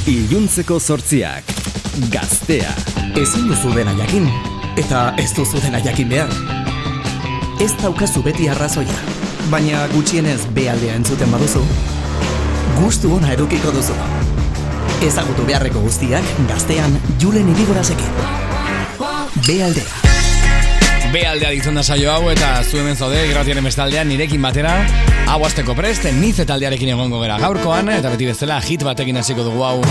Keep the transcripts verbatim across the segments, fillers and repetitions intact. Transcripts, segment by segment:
Iluntzeko zortziak, Gaztea. Ezin duzu dena jakin, eta ez duzu dena jakin behar. Ez daukazu beti arrazoia, baina gutxienez bealdea entzuten baduzu, gustu ona edukiko duzu. Ezagutu beharreko guztiak Gaztean Julen Irigorasekin. Bealdea. Bealdea ditzen da saio hau eta zu hemen zaude irratiaren bestaldean nirekin batera. Hau azteko prest, nize taldearekin egongo gara gaurkoan eta beti bezala hit batekin hasiko dugu hau.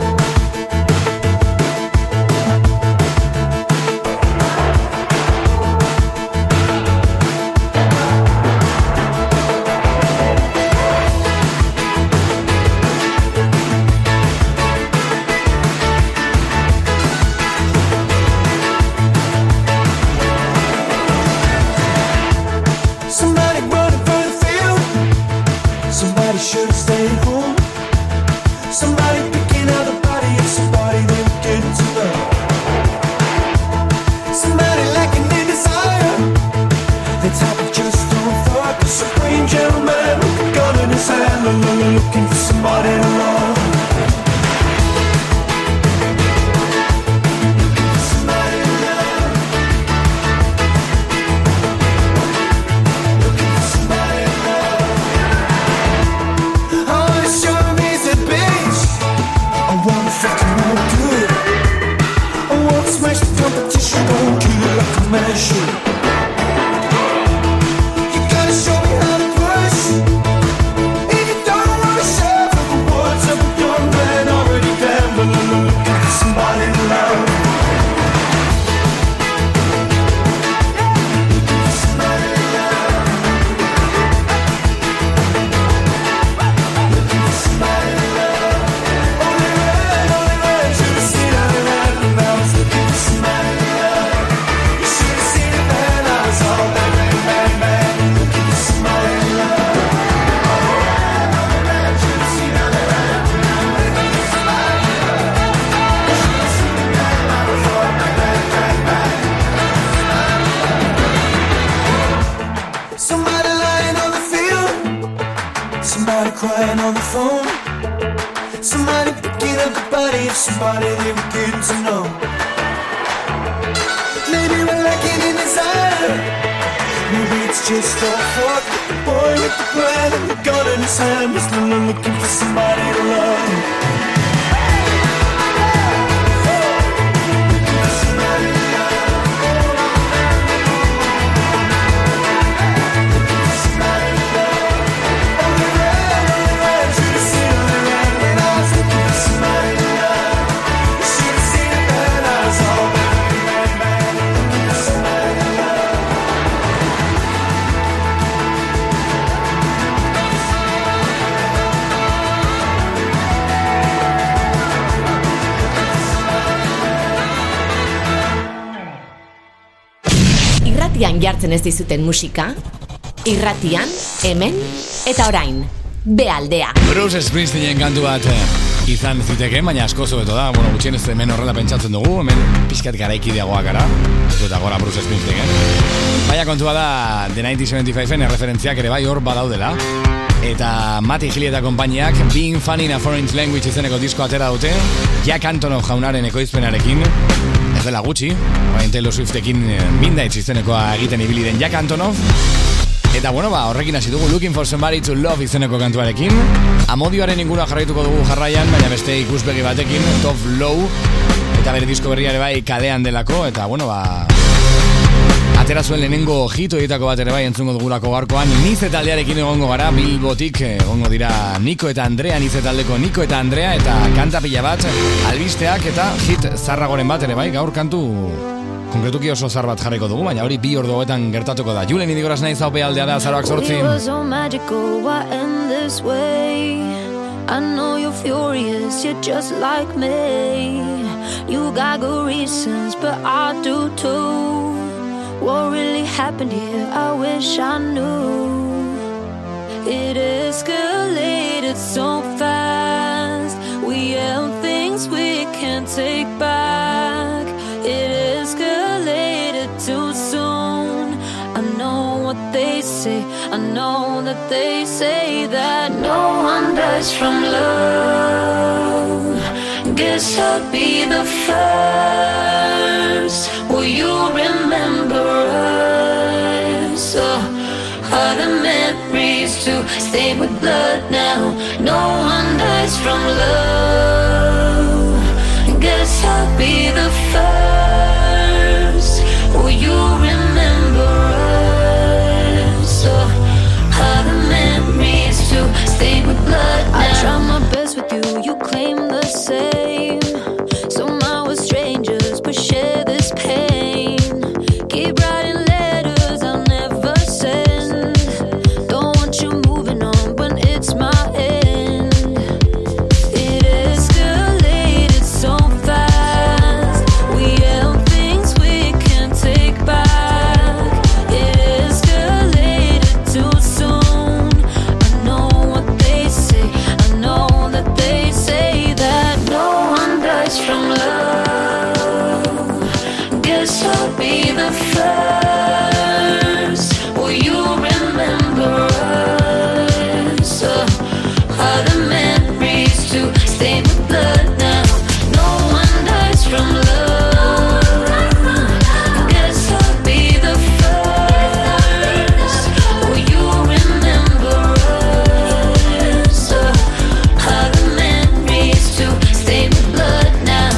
Jartzen ez dizuten musika, irratian, hemen, eta orain, Bealdea. Bruce Springsteenen kantu bat izan ziteke, baina asko zobeto da, bueno, gutxien ez hemen horrela pentsatzen dugu, hemen pixkat garaikideagoa gara, eta gora Bruce Springsteen. Baina kontua da, The mila bederatziehun eta hirurogeita hamairuren referentziak ere bai hor badaudela, eta Matty Healy eta konpainiak Being Funny in a Foreign Language izeneko disko atera dute, Jack Antonoff jaunaren ekoizpenarekin, ez dela gutxi, orain Taylor Swiftekin Midnight izenekoa egiten ibili den Jack Antonoff. Eta bueno, ba, horrekin hasi dugu Looking for Somebody to Love izeneko kantuarekin. Amodioaren ingura jarraituko dugu jarraian, baina beste ikusbegi batekin, Top Low, eta bere disko berriare bai kadean delako, eta bueno, ba, atera zuen lehenengo hito egitako bat ere bai entzungo dugulako gaurkoan. Nize taldearekin egongo gara, Bilbotik egongo dira Niko eta Andrea, Nize taldeko Niko eta Andrea, eta kanta pila bat, albisteak eta hit zarragoren bat ere bai, gaur kantu konkretuki oso zar bat jarriko dugu, baina hori bi ordu hauetan gertatuko da. Julen Irigoras naiz, hau Bealdea da, azaroak zortzi. We were so magical, why end this way? I know you're furious, you're just like me. You got good reasons, but I do too. What really happened here, I wish I knew. It escalated so fast. We held things we can't take back. It escalated too soon. I know what they say, I know that they say that no one dies from love. Guess I'll be the first. Will you remember us? Oh, are the memories to stain with blood now? No one dies from love. Guess I'll be the first. Will you remember us? Oh, are the memories to stain with blood now? I try my best with you, you claim the same. Somehow we're strangers, but share this pain. Keep writing letters I'll never send. Don't want you moving on, but it's my end. It escalated so fast. We held things we can't take back. It escalated too soon. I know what they say, I know that they say that no one dies from love. Guess I'll be the first. Will you remember us? Uh, are the memories to stain with blood now? No one dies from love. Guess I'll be the first. Will you remember us? Uh, are the memories to stain with blood now?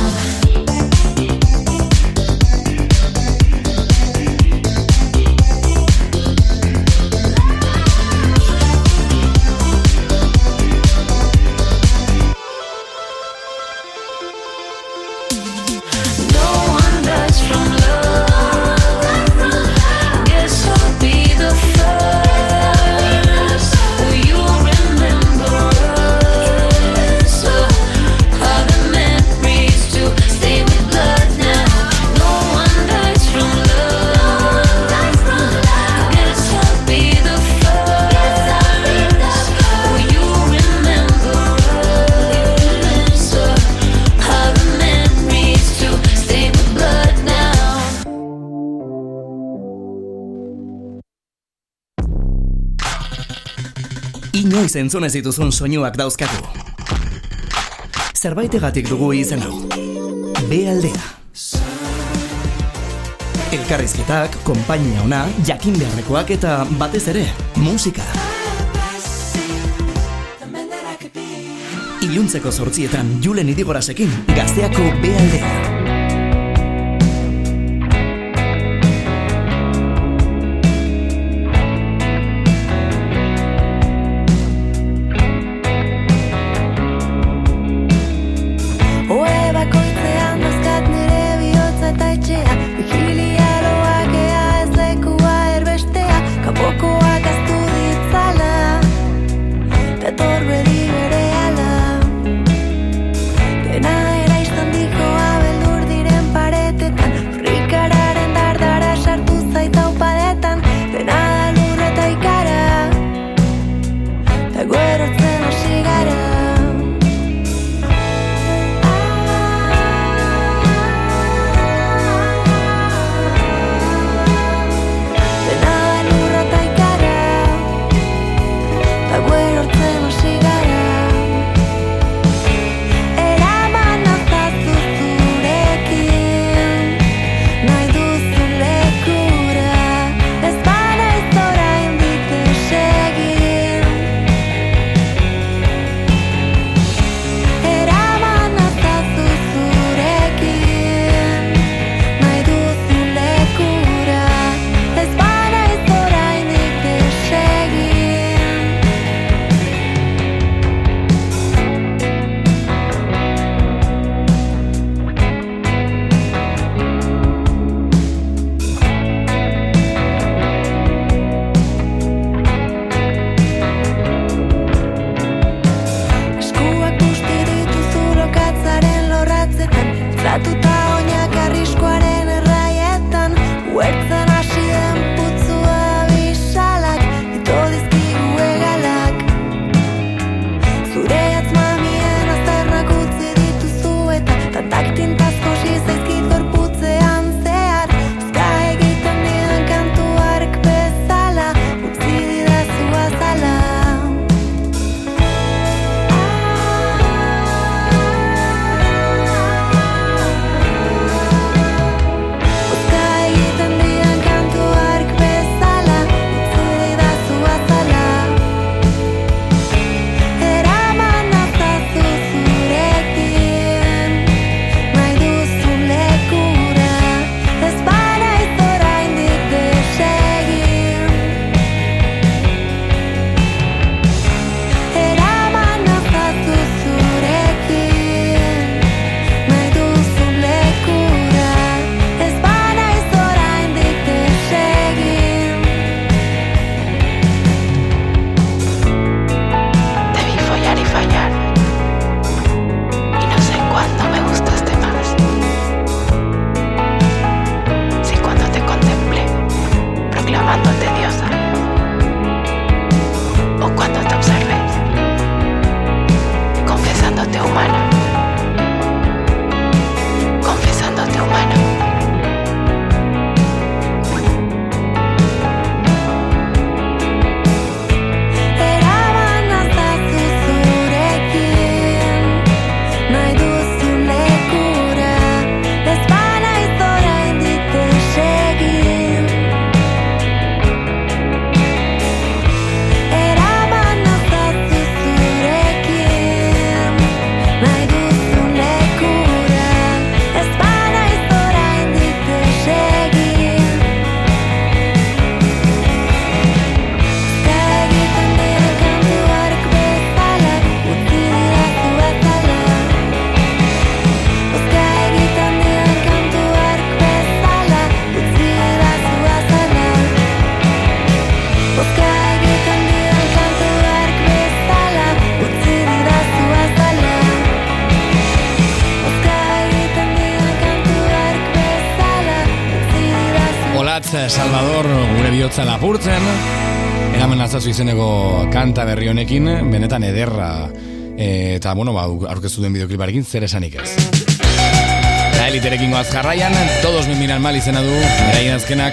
No one dies from love. Guess I'll be the first. Will you remember us? Uh, are the memories to stay with blood now? No one dies from love. Guess I'll be the first. Will you remember us? Uh, are the memories to stay with blood now? Inoiz entzun ez dituzun soinuak dauzkagu. Zerbaitegatik dugu izen hau. B-aldea. Elkarrizketak, konpainia ona, jakin beharrekoak eta batez ere, musika. Iluntzeko zortzietan Julen Idigorasekin, Gazteako B-aldea. Oe bakoitzean dozkat nire bihotza eta etxea. Vigilia loak ea ez lekua erbestea. Kapokoak aztu ditzala, dator bedi berehala. Dena eraistan dikoa beldur Salvador gure bihotza lapurtzen, eramen altzazu izeneko kanta berri honekin, benetan ederra, e, eta bueno, ba, aurkeztu duen bideokliparekin zer esanik ez. Eta eliterekin goaz jarraian, todos me miran mal izena du, beraien azkenak.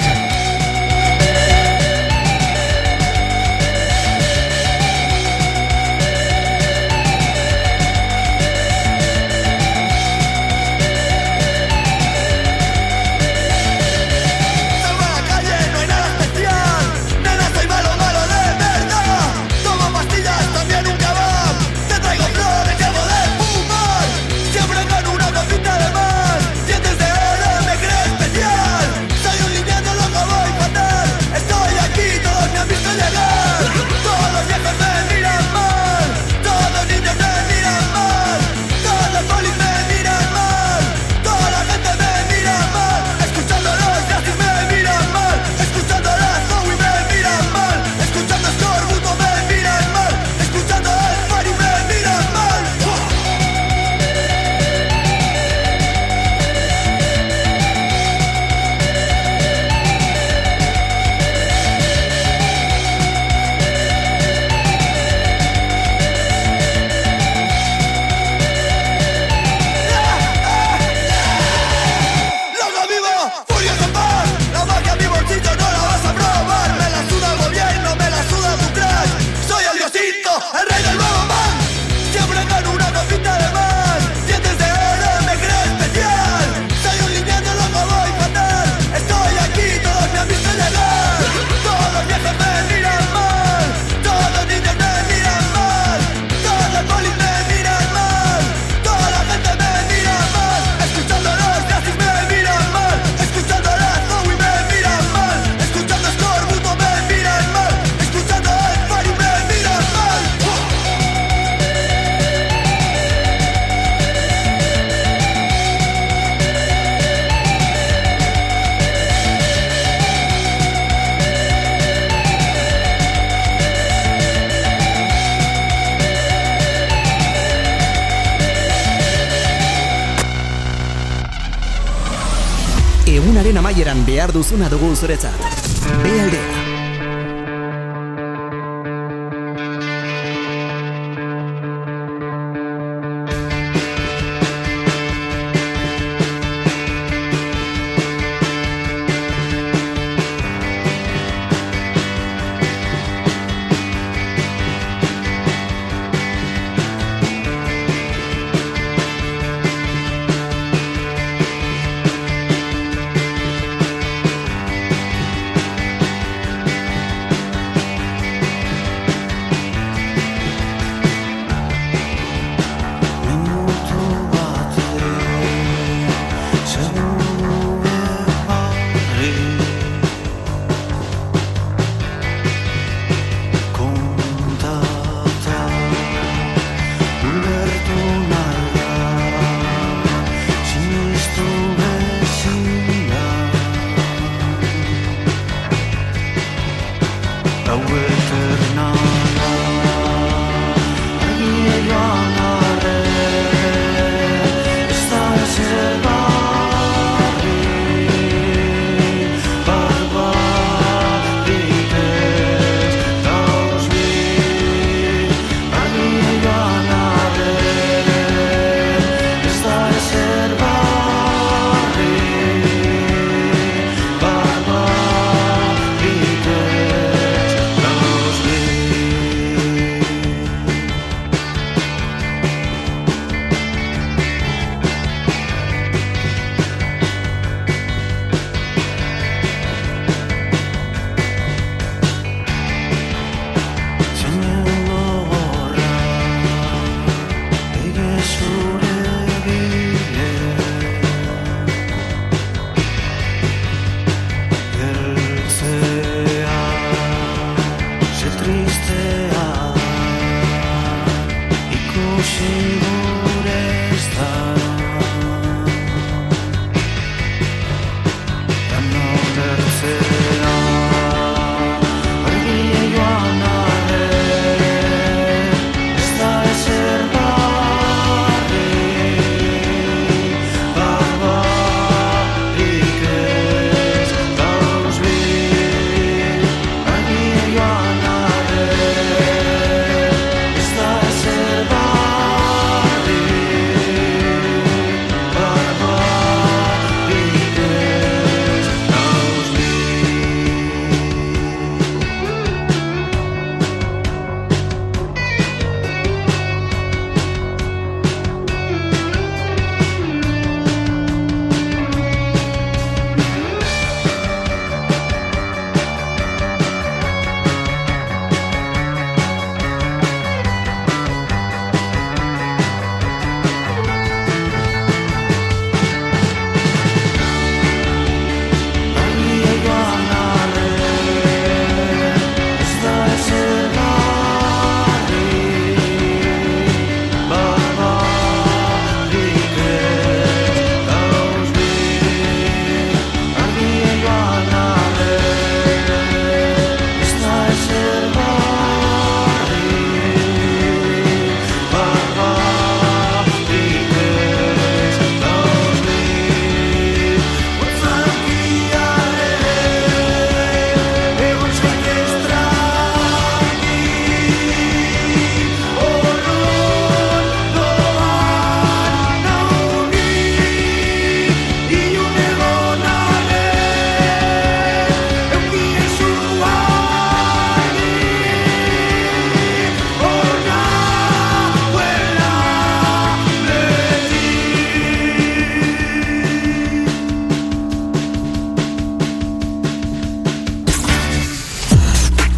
Egunaren amaieran behar duzuna dugu zuretzat. Bealdea.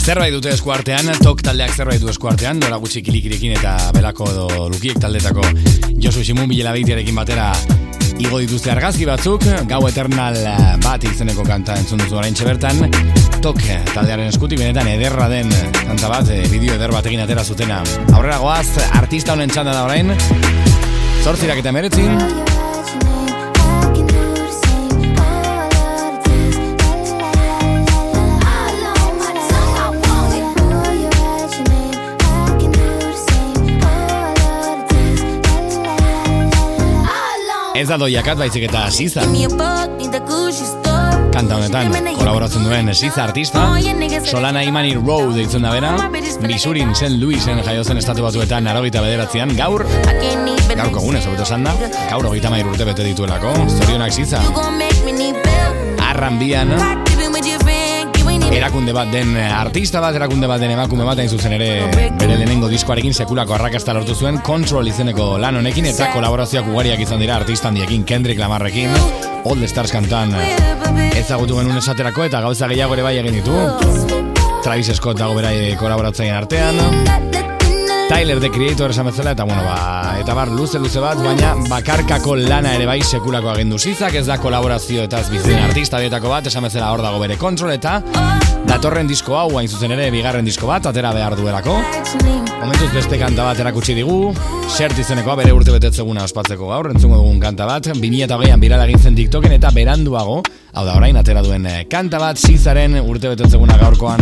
Zerbait dute eskuartean, tok taldeak zerbait du eskuartean, dora gutxi kilikirekin eta belako edo lukiek taldetako Josu Simun Bilela Beitiarekin batera igo dituzte argazki batzuk, Gau Eternal bat izeneko kanta entzun duzu oraintxe bertan, tok taldearen eskutik benetan ederra den kanta bat, bideo eder batekin atera zutena. Aurrera goaz, artista honen txanda da orain, zortzirak eta meretzin, ez da doiakat baizik eta Siza. Kanta honetan kolaboratzen duen Siza artista, Solana Imani Road deitzen da bera, Misurin Saint Louisen jaiozen estatu batuetan laurogeita bederatzian, gaur, gaurko egunez hobeto esan da, gaur hogeita hamairu urte bete dituelako, zorionak Siza. Arranbian, erakunde bat den artista bat, erakunde bat den emakume bat, hain zuzen ere bere lehenengo diskoarekin sekulako arrakasta lortu zuen, Control izeneko lan honekin, eta kolaborazioak ugariak izan dira artista handiekin, Kendrick Lamarrekin, All the Stars kantan ezagutu genuen esaterako, eta gauza gehiago ere bai egin ditu, Travis Scott dago berai kolaboratzaien artean, Tyler, The Creator esan bezala, eta bueno, ba, eta bar luze-luze bat, baina bakarkako lana ere bai sekulako agendu Sizak, ez da kolaborazio eta ez bizien artista dietako bat, esan bezala hor dago bere Control, eta datorren disko hau, hain zuzen ere, bigarren disko bat, atera behar duelako. Momentuz beste kanta bat erakutsi digu, Xert izenekoa bere urte betetzeguna ospatzeko gaur, entzungo dugun kanta bat, bi mila hogeian birala egin zen TikToken, eta beranduago, hau da orain atera duen kanta bat, Sizaren urte betetzeguna gaurkoan.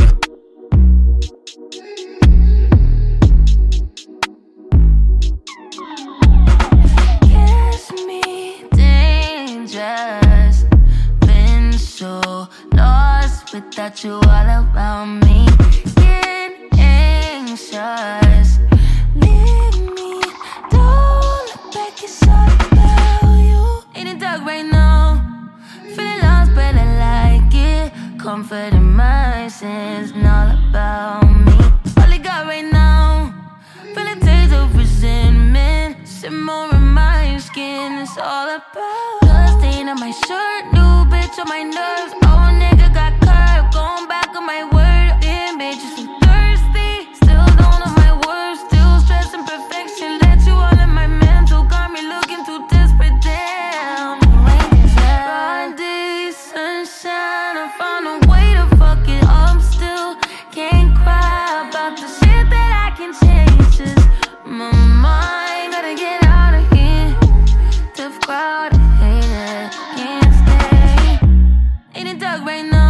Without you all around me, getting anxious. Leave me, don't look back, it's all about you. In the dark right now, feeling lost but I like it. Comfort in my sins, and all about me. All I got right now, feeling taste of resentment. Simmer in my skin, it's all about. Blood stain on my shirt, new bitch on my nerves. Oh nigga got going back on my word, damn bitch, you're so thirsty. Still don't know my words, still stressing perfection. Let you all in my mental, got me looking too desperate, damn. Broad day, sunshine, I found a way to fuck it up still. Can't cry about the shit that I can change. Just my mind, gotta get out of here. Tough crowd, I hate it, can't stay. In the dark right now,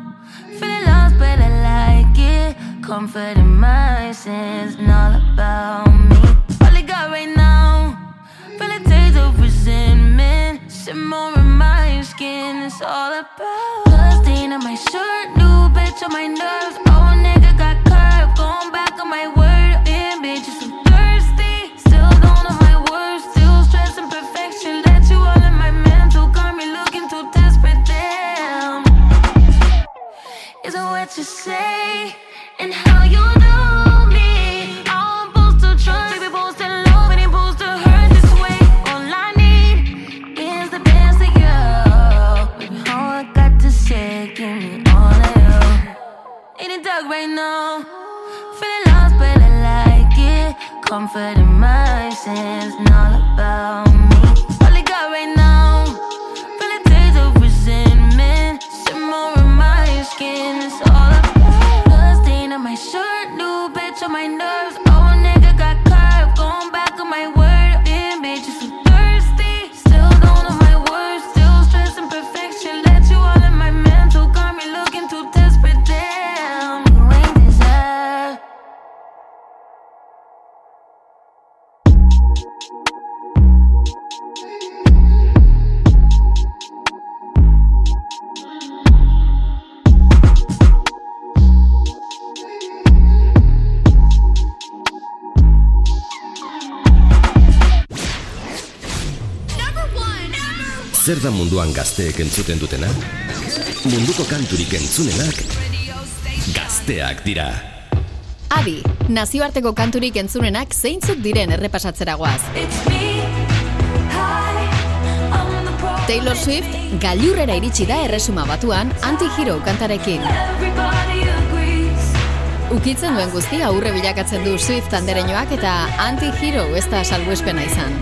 comfort in my sins, and all about me. All I got right now, feel a taste of resentment. Simmer in my skin, it's all about. Blood stain on my shirt, new bitch on my nerves. Oh nigga got curved, going back on my word. Damn bitch, you're so thirsty. Still don't know my words, still stressing perfection. Let you all in my mental, got me looking too desperate, damn. Is it what you say? And how you do me, I'm supposed to trust, baby, supposed to love, and I'm supposed to hurt this way. All I need is the best of you. Baby, all I got to say, give me all of you. In the dark right now, feeling lost, but I like it. Comfort in my sins, and all about me. All I got right now, feel a taste of resentment. Simmer in my skin, it's all about. On my shirt, new bitch on my nerves. Oh nigga got curved, going back on my word. Damn bitch, you're so thirsty. Still don't know my words, still stressing perfection. Let you all in my mental, got me looking too desperate. Damn, you ain't deserve. Zer da munduan gazteek entzuten dutena? Munduko kanturik entzunenak gazteak dira. Adi, nazioarteko kanturik entzunenak zeintzuk diren errepasatzera goaz. Taylor Swift gailurrera iritsi da erresuma batuan Anti-Hero kantarekin. Ukitzen duen guztia aurre bilakatzen du Swift andereñoak eta anti-hero ez da salbuespena izan.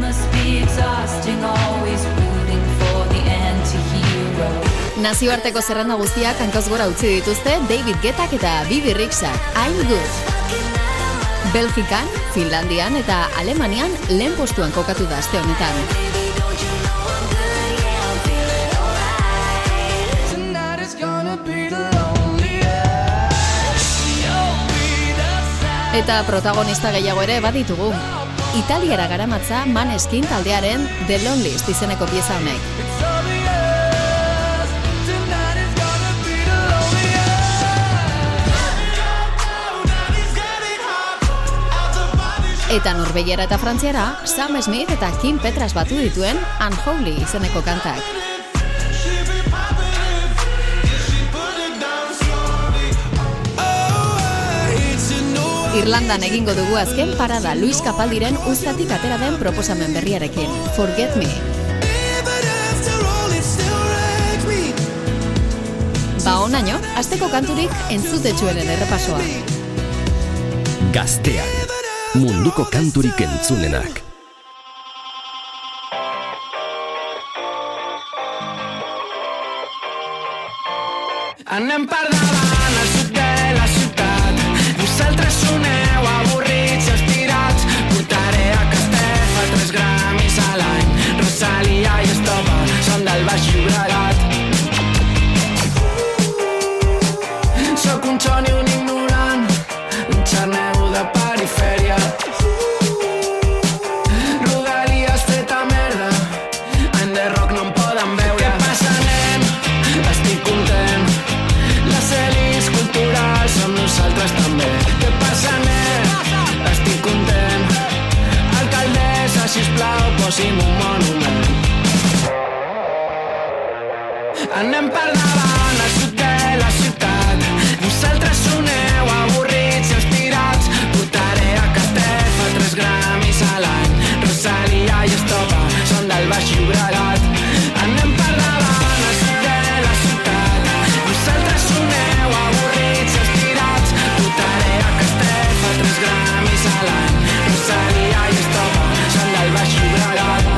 Nazioarteko zerrenda guztiak hankoz gora utzi dituzte David Guettak eta Bibi Rexhak, I'm Good. Belgikan, Finlandian eta Alemanian lehen postuan kokatu da aste honetan. Eta protagonista gehiago ere baditugu. Italiara garamatza Maneskin taldearen The Loneliest izeneko pieza honek. Eta Norvegiara eta Frantziara Sam Smith eta Kim Petras batu dituen Unholy izeneko kantak. Irlandan egingo dugu azken parada Luis Capaldiren uztatik atera den proposamen berriarekin, Forget Me. Ba onaino, asteko kanturik entzutetsuenen errepasoa. Gaztean, munduko kanturik entzunenak. Anem per davant al sud de la ciutat. Vosaltres soneu avorrits i estirats. Portaré a Castefa tres gramis a l'any. Rosalia i Estopa són del Baix Llobregat. Sóc un xon i un ignorant, un xarnego de perifèria. Rodalies feta merda, any de rock no em poden veure. Què passa, nen? Estic content. Les elis culturals som nosaltres també. Què passa, nen? Estic content. Alcaldessa, sisplau, posi'm un monument. Anem per davant al sud de la ciutat. Vosaltres soneu avorrits i estirats. Portaré a Castefa tres gramis a l'any. Rosalia i Estopa són del Baix Llobregat. Anem per davant al sud de la ciutat. Vosaltres soneu avorrits i estirats. Portaré a Castefa tres gramis a l'any. Rosalia i Estopa són del Baix Llobregat.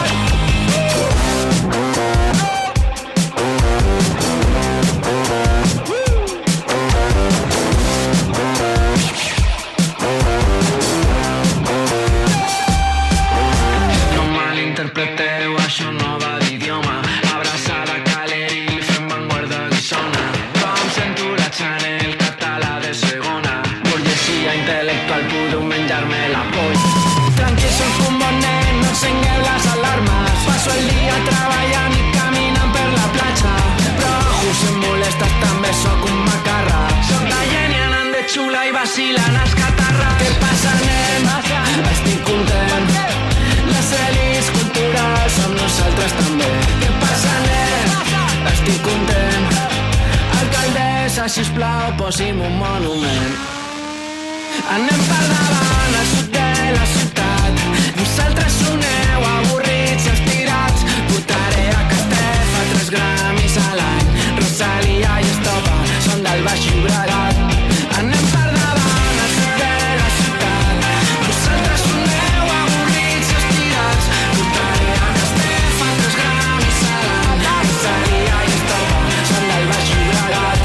Interpreteu, això no va d'idioma. Abraçada Caleril, fem vanguarda guissona. Com sento la Chanel, català de segona. Burgesia intel·lectual, pudo menjar-me la polla. Tranquil, soc un bon nen, no encengueu les alarmes. Passo el dia treballant i caminant per la platja. Però ojo, si em molestes també sóc un macarra. Soc de Gènia, anant de xula i vacilant els catarres. Què passa, nen? Estic content. Les elis culturals som nosaltres també. Què passa, nen? Estic content. Alcaldessa, sisplau, posi'm un monument. Anem per davant al sud de la ciutat. Vosaltres soneu avorrits i estirats. Portaré a Castefa tres gramis a l'any. Rosalia i Estopa són del Baix Llobregat. Anem per davant al sud de la ciutat. Vosaltres soneu avorrits i estirats. Portaré a Castefa tres gramis a l'any. Rosalia i Estopa són del Baix Llobregat.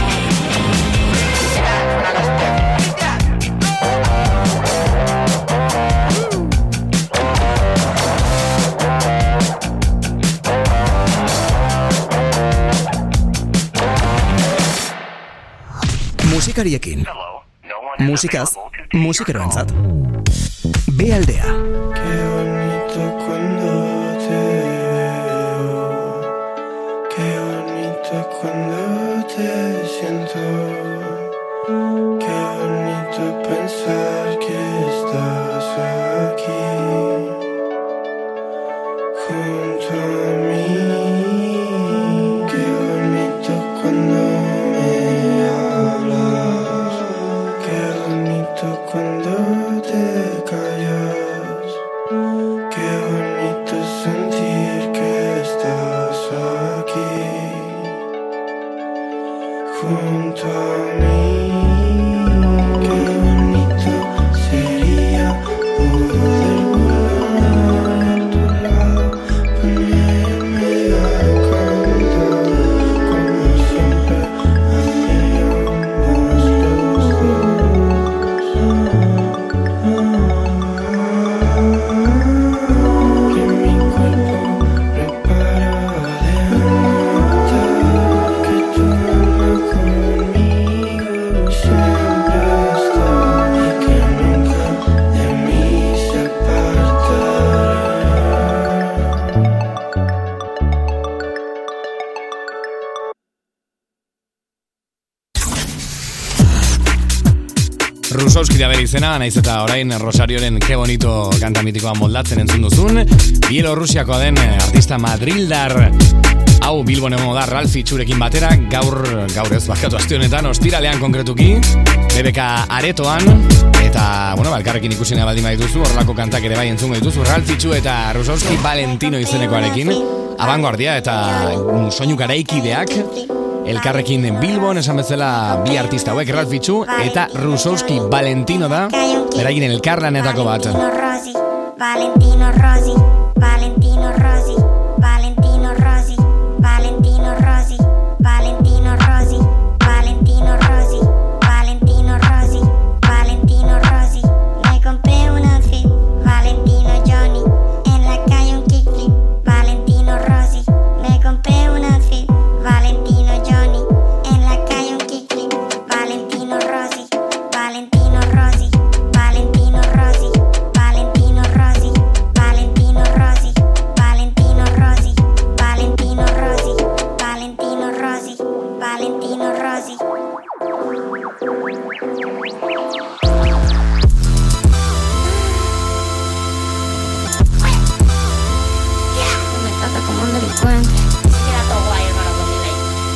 Musikariekin. Musikaz, musikeroentzat. B aldea. Qué bonito cuando te veo. Qué bonito cuando te siento. Qué bonito pensar que estás aquí junto a mí. Qué bonito cuando cuando te callas. Qué bonito sentir que estás aquí junto a mí. Qué Rusauski da bere izena, naiz eta orain Rosarioren Ke Bonito kanta mitikoa moldatzen entzun duzun. Bielorrusiakoa den artista madrildar hau Bilbon egongo da Ralph Itxurekin batera, gaur, gaur ez, bakatu aste honetan, ostiralean konkretuki, B B K aretoan, eta, bueno, elkarrekin ikusina baldin badituzu, horrelako kantak ere bai entzungo dituzu, Ralph Itxu eta Rusauski Valentino izenekoarekin, abangoardia eta soinu garaikideak, elkarrekin Bilbon, esan bezala bi artista hauek, Ralph Itxu eta Rusauski Valentino da, beraien elkarlanetako bat. Valentino Rossi, Valentino Rossi, Valentino Rossi, Valentino Rossi, Valentino Rossi, Valentino Rossi, Valentino Rossi, Valentino Rossi. Me compré un outfit, Valentino Johnny, en la calle un kickflip, Valentino Rossi. Me compré un outfit, Valentino Johnny, en la calle un kickflip, Valentino Rossi, Valentino Rossi, Valentino Rossi, Valentino Rossi, Valentino Rossi, Valentino Rossi, Valentino Rossi, Valentino Rossi, Valentino Rossi. Me trata como un delincuente. Siquiera todo guay, hermano, con mi ley.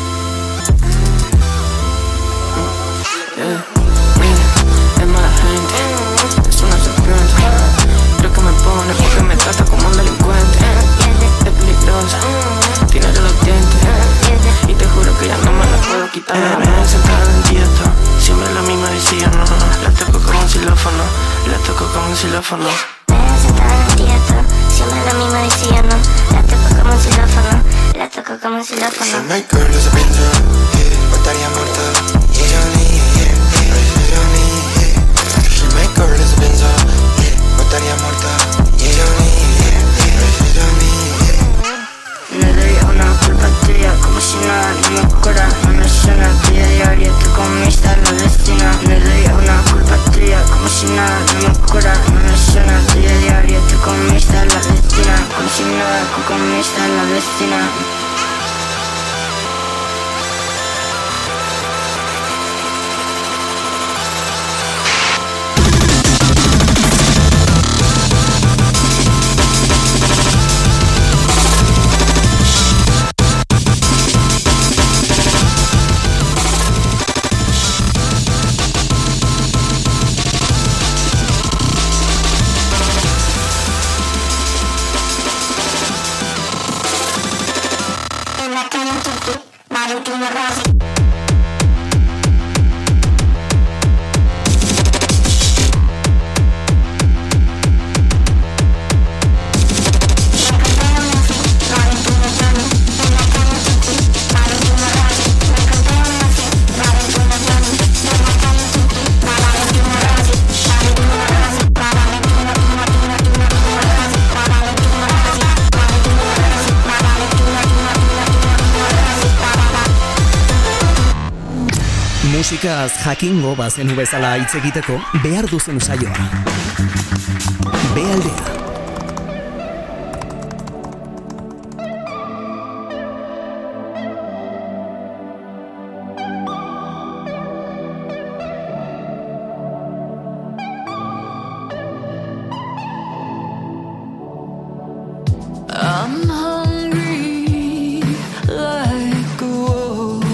Es mala gente, es una serpiente. Creo que me pone porque me trata como un delincuente. Es peligrosa, tiene los dientes. Y te juro que ya no me la puedo quitar. Me ven sentada en dieta, siempre la misma decía no. La toco como un xilófono, la toco como un xilófono. Me ven sentada en dieta, siempre la misma decía no. La toco como un xilófono, la toco como un xilófono. My girl is a benzo, yeah, estaría muerta. Y yo ni, yeah, yeah, yo ni, yeah. She my girl is a benzo, yeah, estaría muerta. Y yo ni, yeah, yeah, yo ni, yeah. Me doy una culpa tuya como si nada no me cura. No me suena día diario, tú comiste la destina. Me doy una culpa tuya como si nada no me cura. No me suena día diario, tú comiste la destina. Como si nada, tú comiste la destina. En la calle un kickflip, Valentino Rossi. Musikaz jakingo bazenu bezala hitz egiteko behar duzen saioa. Bealdea. I'm hungry like a wolf.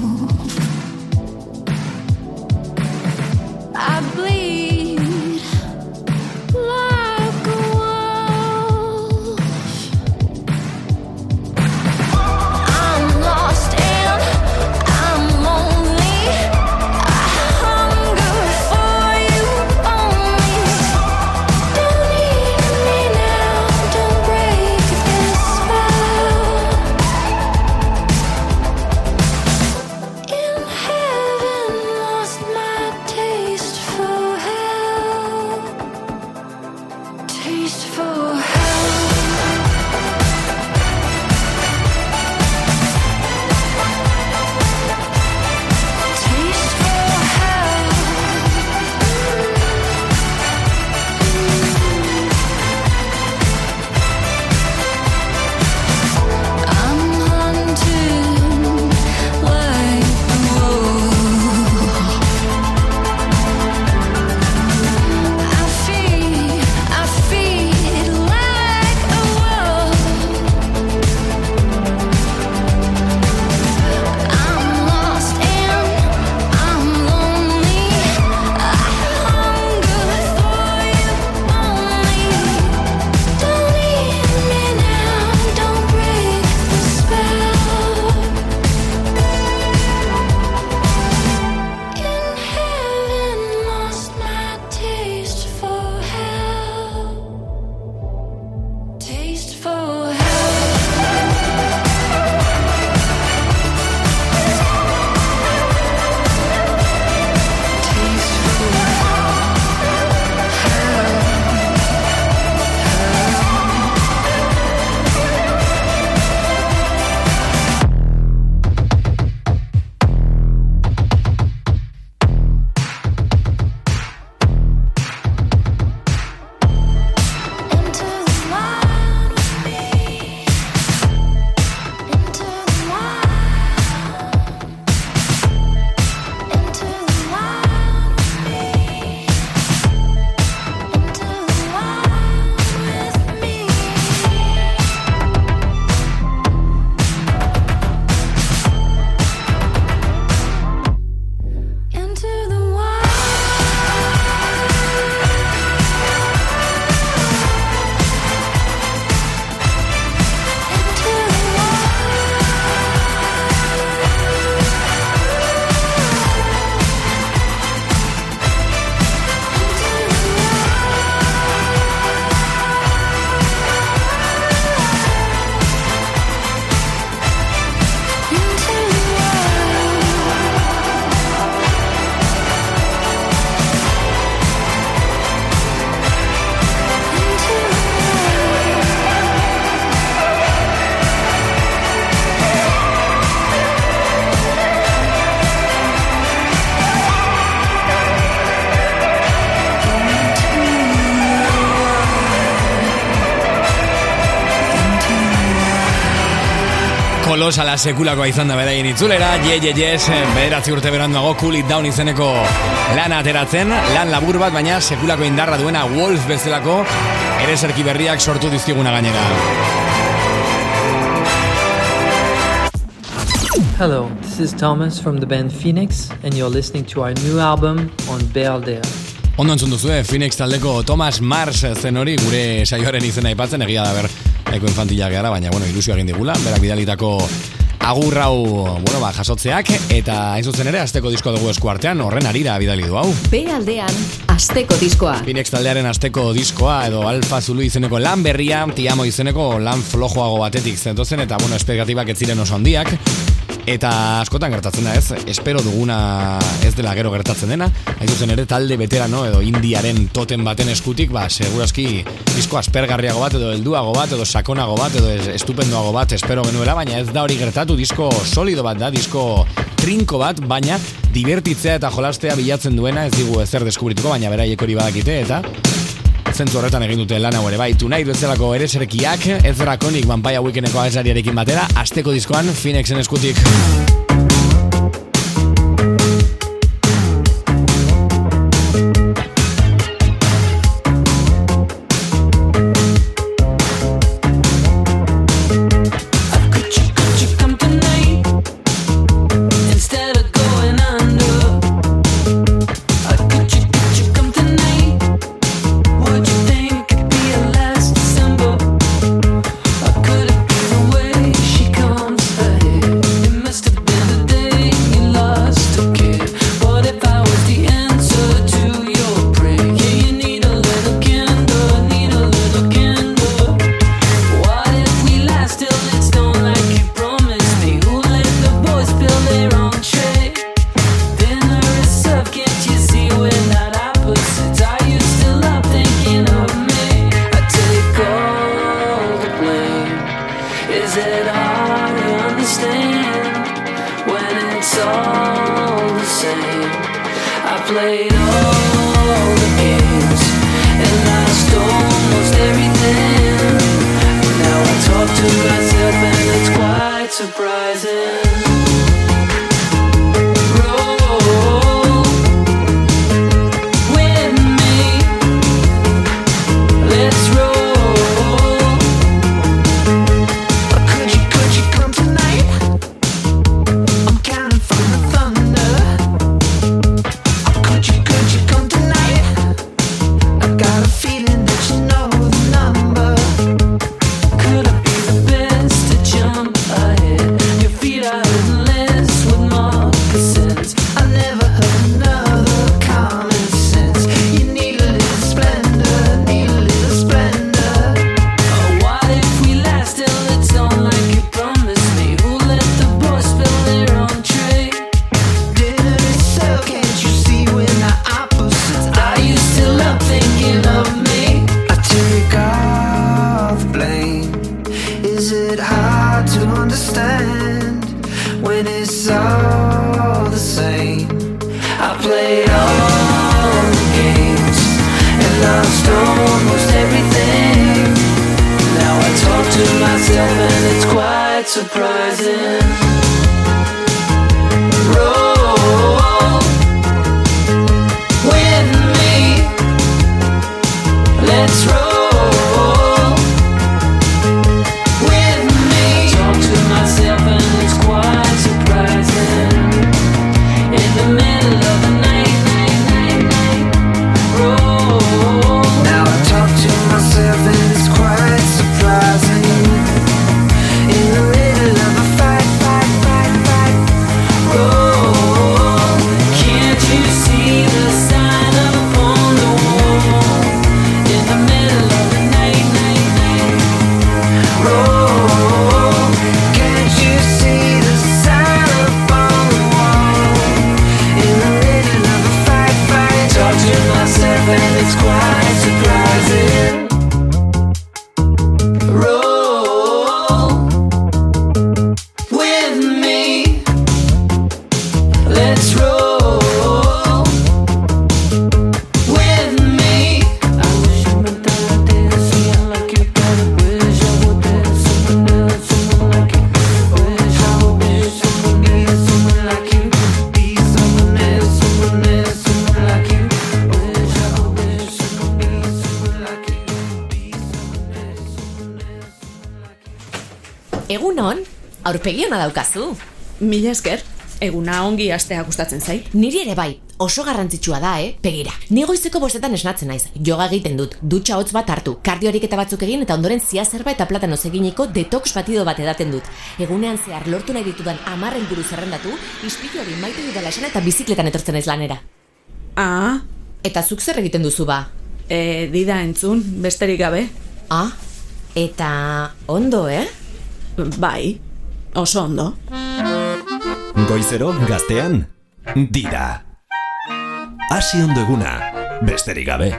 I bleed like a wolf. I'm lost and I'm lonely. I hunger for you only. Don't need me now, don't break this kolosala sekulakoa izan da beraien itzulera, ye ye yes, bederatzi urte beranduago Cool It Down izeneko lana ateratzen, lan labur bat, baina sekulako indarra duena Wolf bezalako ereserki berriak sortu dizkiguna gainera. Hello, this is Thomas from the band Phoenix, and you're listening to our new album on Bealdea. Ondo entzun duzue, Phoenix taldeko Thomas Mars zen hori, gure saioaren izena aipatzen, egia da ber, eko infantila gara, baina, bueno, ilusio egin digula, berak bidalitako agur hau, bueno, ba, jasotzeak, eta hain zuzen ere, asteko diskoa dugu eskuartean, horren arira bidali du hau. Be aldean, asteko diskoa. Phoenix taldearen asteko diskoa, edo Alfa Zulu izeneko lan berria, Tiamo izeneko lan flojoago batetik zentozen, eta, bueno, espektatibak ez ziren oso handiak, eta askotan gertatzen da ez, espero duguna ez dela gero gertatzen dena, hain zuzen ere talde veterano edo indiaren toten baten eskutik, ba, segurazki disko aspergarriago bat, edo helduago bat, edo sakonago bat, edo estupendoago bat espero genuela, baina ez da hori gertatu, disko solido bat da, disko trinko bat, baina divertitzea eta jolastea bilatzen duena, ez digu ezer deskubrituko, baina beraiek hori badakite, eta zentzu horretan egin dute lan hau ere bai, Tonight bezalako ereserkiak, ez Drakonik Vampire Weekendeko abeslariarekin batera, asteko diskoan Phoenixen eskutik. Fight, fight. Egun on, aurpegi ona daukazu. Mila esker, eguna ongi astea gustatzen zait. Niri ere bai, oso garrantzitsua da, eh? Begira, ni goizeko bostetan esnatzen naiz, yoga egiten dut, dutxa hotz bat hartu, kardiorik eta batzuk egin eta ondoren ziazerba eta platanoz eginiko detox batido bat edaten dut. Egunean zehar lortu nahi ditudan hamar helburu zerrendatu, ispilu hori maite dudala esan eta bizikletan etortzen naiz lanera. Ah, eta zuk zer egiten duzu ba? E, dida entzun, besterik gabe. Ah, eta ondo, eh? Bai, oso ondo. Goizero gaztean, dida. Hasi ondo eguna, besterik gabe.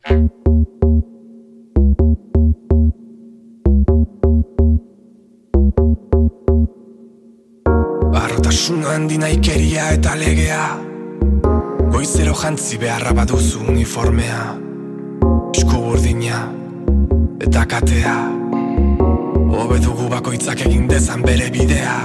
Barrotasuna handi naikeria eta legea, goizero jantzi beharra baduzu uniformea, esku burdina eta katea, hobe dugu bakoitzak egin dezan bere bidea.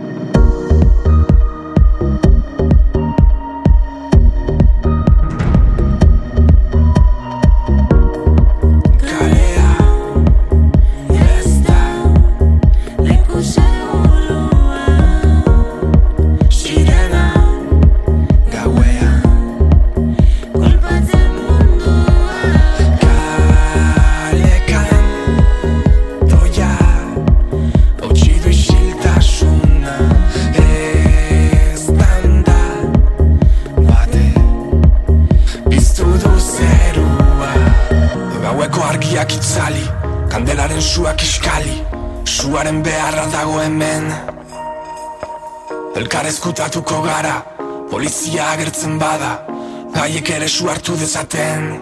Itzali, kandelaren suak iskali, suaren beharra dago hemen. Elkar ezkutatuko gara, polizia agertzen bada, gaiek ere su hartu dezaten.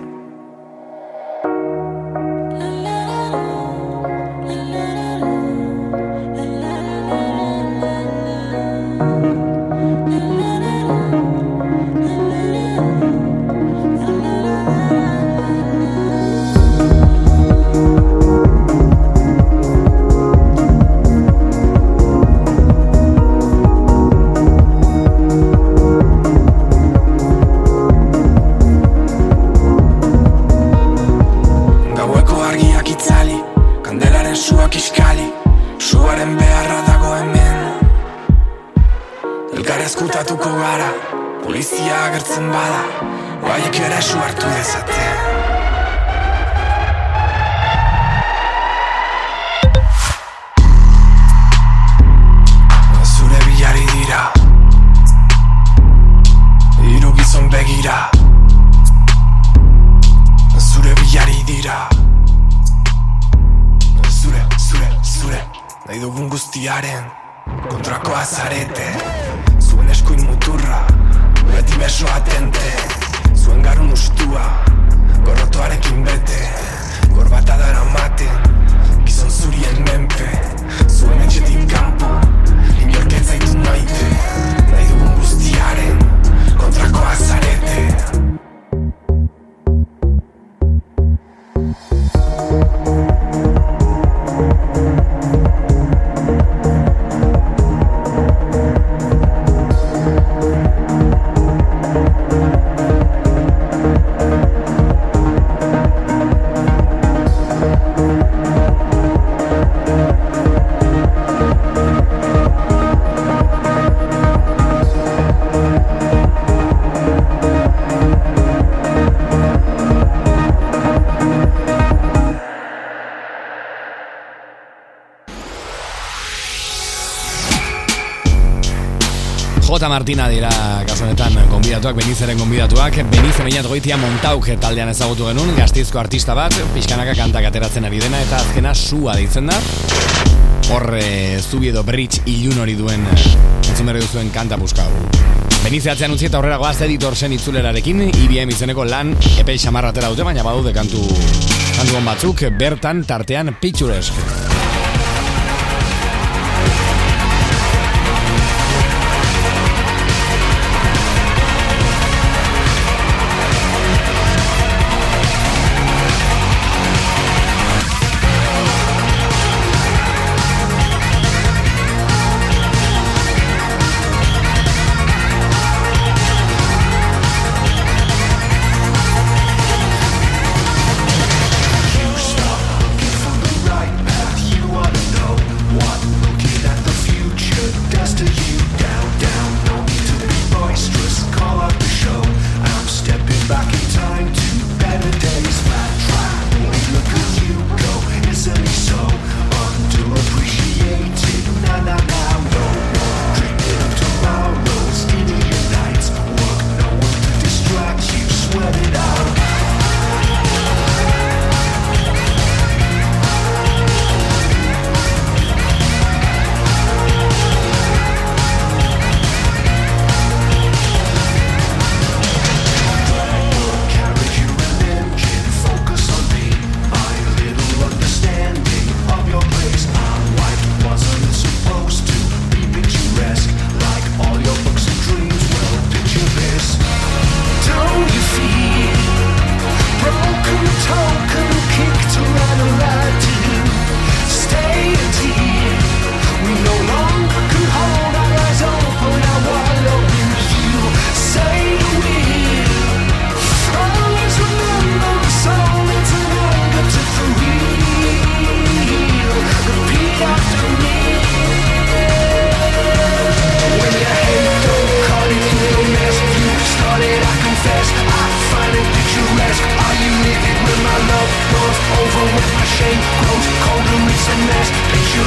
Kontrakoa zarete, zuen eskuin muturra, beti beso atente, zuen garun ustua, gorrotoarekin bete, gorbata dara maten, gizon zurien menpe, zuen etxetik kanpo, inork ez zaitu maite, nahi dugun guztiaren, kontrakoa zarete. Jota Martina dira kasu honetan gonbidatuak, Benizeren gonbidatuak. Benize Beñat Goitia Montauk taldean ezagutu genuen, Gasteizko artista bat, pixkanaka kantak ateratzen ari dena eta azkena sua deitzen da. Hor e, zubi edo bridge ilun hori duen entzun berri duzuen kanta buskau. Benize atzean utzi eta aurrera goaz editor zen itzulerarekin, I B M izeneko lan epei xamarra atera dute, baina badaude kantu kantu batzuk bertan tartean Picturesque. You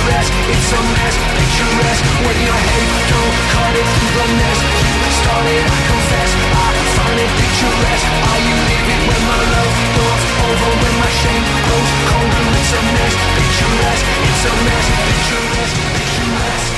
picturesque, it's a mess, picturesque. When your hate don't cut it through the mess. You started, I confess, I find it picturesque. Are you living when my love goes over, when my shame grows colder? It's a mess, picturesque, it's a mess, picturesque, picturesque.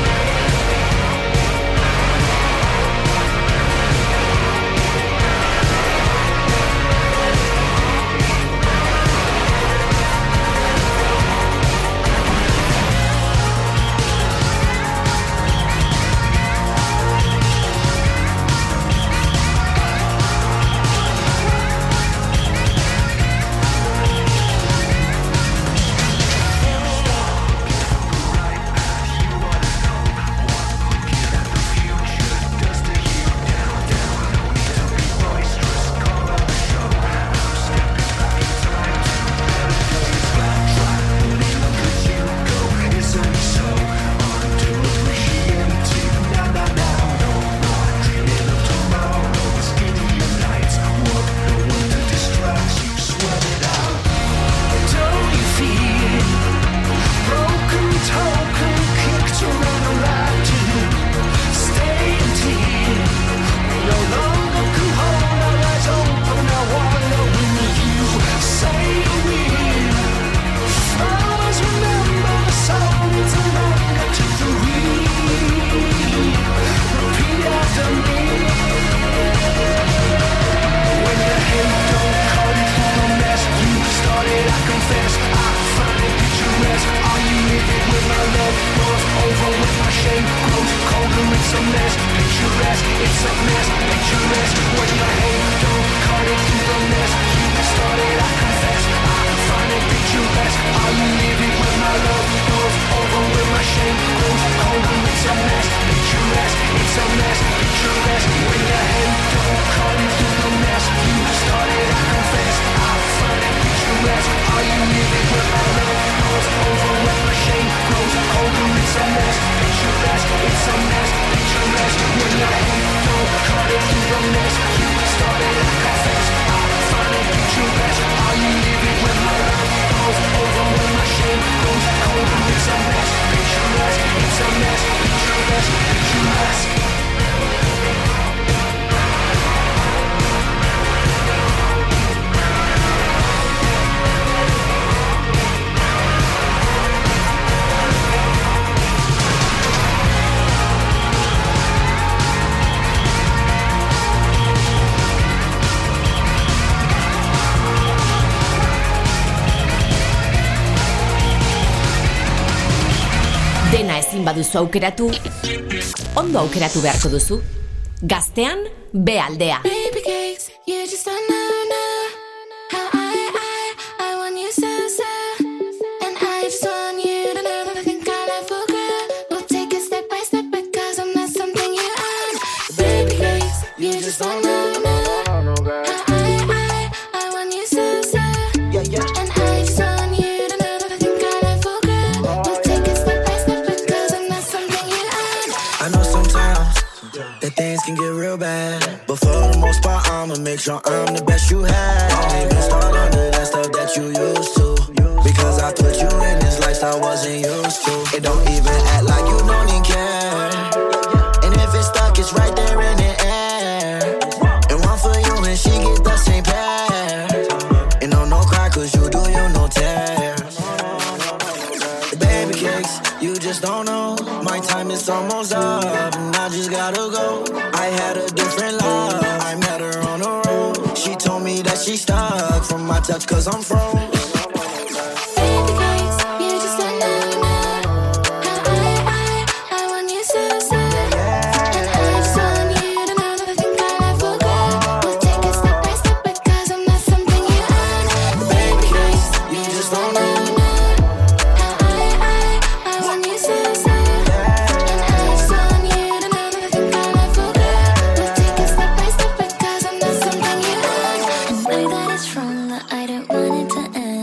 Baduzu aukeratu, ondo aukeratu beharko duzu. Gaztean, B aldea. Baby cakes, you just don't know, know how I, I, I want you so, so. And I just want you to know that I think I love for girl. We'll take it step by step because I'm not something you own. Baby cakes, you just don't know, know how I, I, I want you so, so. Yeah, yeah. And I just want you to know that I think I love for girl. We'll take it step by step because I'm not something you own. I know sometimes that things can get real bad, but for the most part I'ma make sure I'm the best you had. Don't even start under that stuff that you used to, because I put you in this lifestyle I wasn't used to. It don't even act like you don't even care, and if it's stuck it's right there in the air. And one for you and she get the same pair. And no, no cry cause you do you no tear. Baby cakes, you just don't know. My time is almost up and I just gotta go. I had a different love, I met her on the road. She told me that she stuck from my touch cause I'm froze. Baby cakes, you just don't know, know how I, I, I want you so, so. And I just want you to know that I think I love for girl. We'll take it step by step because I'm not something you own. Baby cakes, you just don't know, know how I, I, I want you so, so. And I just want you to know that I think I love for girl. We'll take it step by step because I'm not something you own. I know that it's wrong, that I don't want it to end.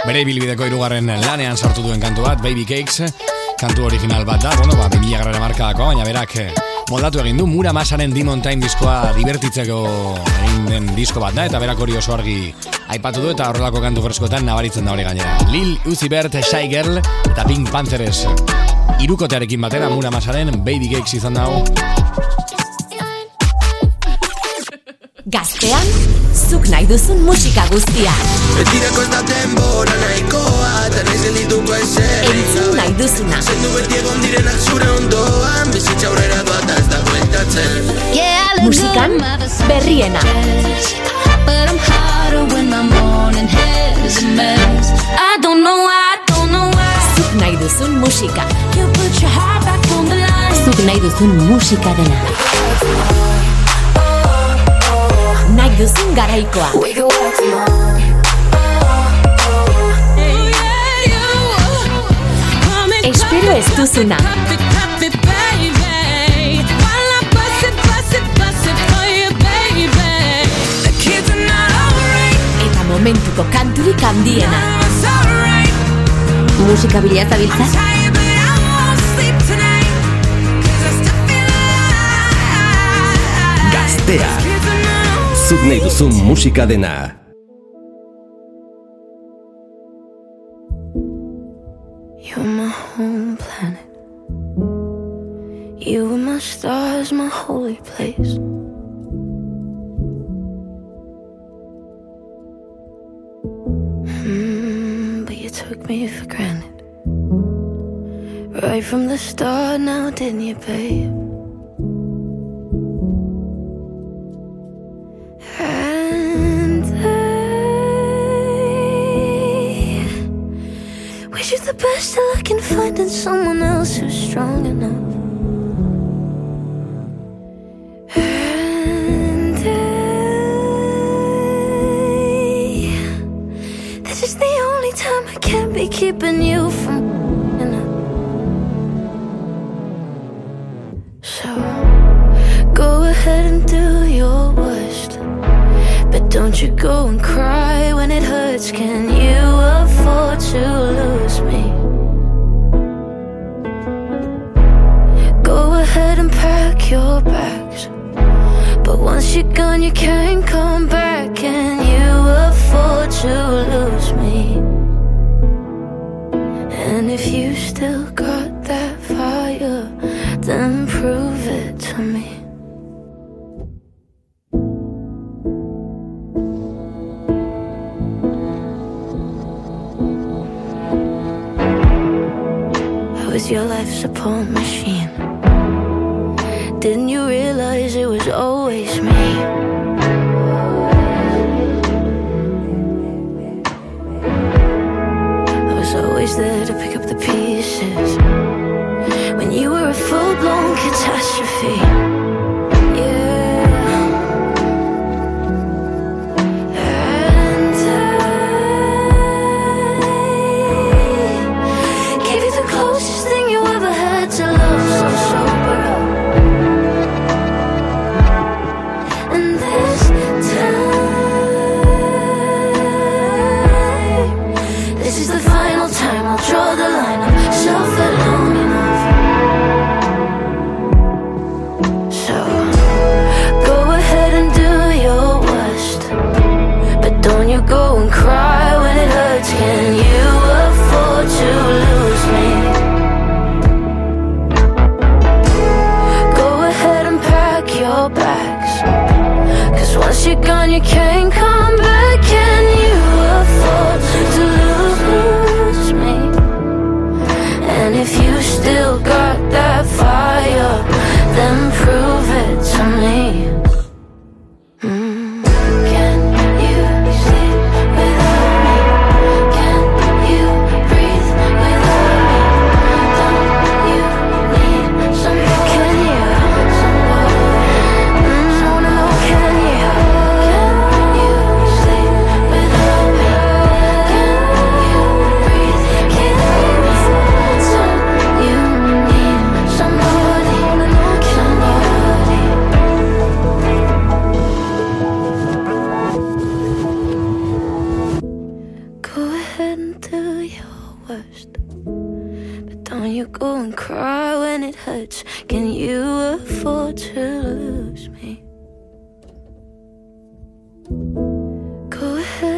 Bere ibilbideko hirugarren lanean sartu duen kantu bat, Baby Cakes, kantu original bat da, bueno, ba, bi mila garrera markadako, baina berak moldatu egin du, Mura Masaren Demon Time diskoa divertitzeko egin den disko bat da, eta berak hori oso argi aipatu du, eta horrelako kantu freskoetan nabaritzen da hori gainera. Lil Uzi Vert, Shy Girl, eta Pink Panthers hirukotearekin batera, Mura Masaren Baby Cakes izan dago. Gaztean, zuk nahi duzun musika guztia. Betirako ez da denbora nahikoa, eta nahi zelituko ezer. Entzun nahi duzuna. Zendu beti egon direnak zure ondoan, bizitza aurrera doa ez da bueltatzen. Musikan, berriena. But I'm harder when my morning hair's a mess. I don't know why, I don't know why. Zuk nahi duzun musika. You put your heart back on the line. Zuk nahi duzun musika dena. Nahi duzun garaikoa. Espero ez duzuna. Eta momentuko kanturik handiena. Musika bila zabiltza? Gaztea. Zuk nahi duzun musika dena. You're my home planet. You were my stars, my holy place. Mm, but you took me for granted. Right from the start now, didn't you, babe? You're the best I can find in someone else who's strong enough. And I, this is the only time I can't be keeping you from enough. So go ahead and do your worst, but don't you go and cry when it hurts. Can you afford to lose me? Go ahead and pack your bags, but once you're gone you can't come back. Can you afford to lose me? And if you still got that fire, then prove it to me. Was your life support machine? Didn't you realize it was always me? I was always there to pick up the pieces when you were a full-blown catastrophe. Go and cry when it hurts. Can you afford to lose me? Go ahead and pack your bags, 'cause once you're gone you can't come back. Can you afford to lose me? And if you still got that fire, then prove it to me. Can you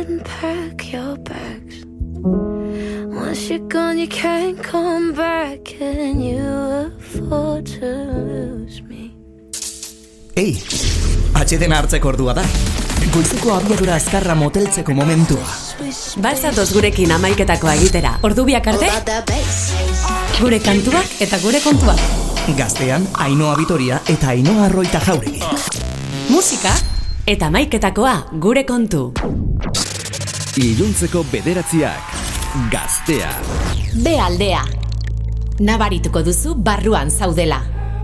unpack your bags. Once you're gone, you can't come back. Can you afford to lose me? Ei, atxedena hartzeko ordua da. Goizeko abiadura azkarra moteltzeko momentua. Balzatoz gurekin amaiketakoa egitera. Ordu biak arte, gure kantuak eta gure kontuak. Gaztean, Ainhoa Vitoria eta Ainhoa Arroita Jauregi. Musika eta amaiketakoa gure kontu. Iluntzeko bederatziak. Gaztea. Be aldea. Nabarituko duzu barruan zaudela.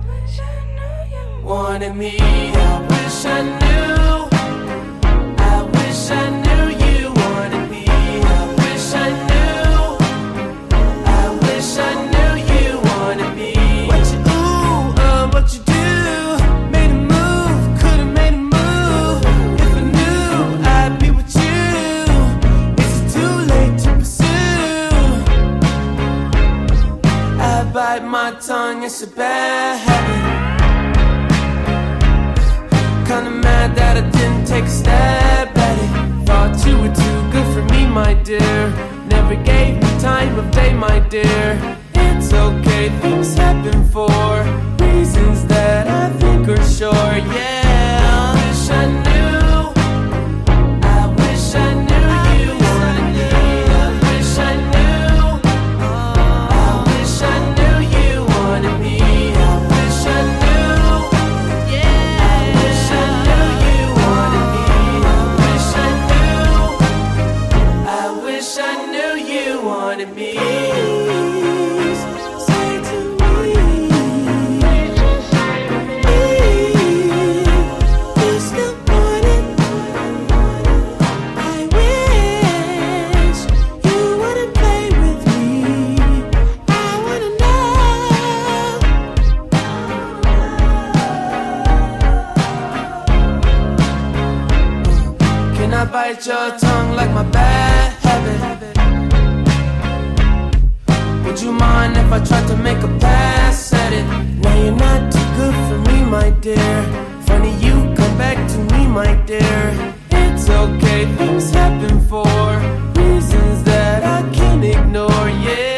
Wanted me, I wish I knew. I wish I knew you wanted me. I wish I knew. I wish I knew you wanted me. What you ooh, uh, what you do? Made a move, could've made a move. If I knew I'd be with you. Is it too late to pursue? I bite my tongue, it's a bad habit. Kinda mad that I didn't take a stab at it. Thought you were too good for me, my dear. Never gave me time of day, my dear. It's okay, things happen for reasons that I think are sure, yeah. I wish I knew. I wish I knew you wanted me. I wish I knew. I wish I knew you wanted me. I wish I knew. Me. Say to me, please good morning. I wish you wouldn't play with me. I wanna know. Can I bite your tongue like my bad habit? Would you mind if I tried to make a pass at it? Now you're not too good for me, my dear. Funny you come back to me, my dear. It's okay, things happen for reasons that I can't ignore, yeah.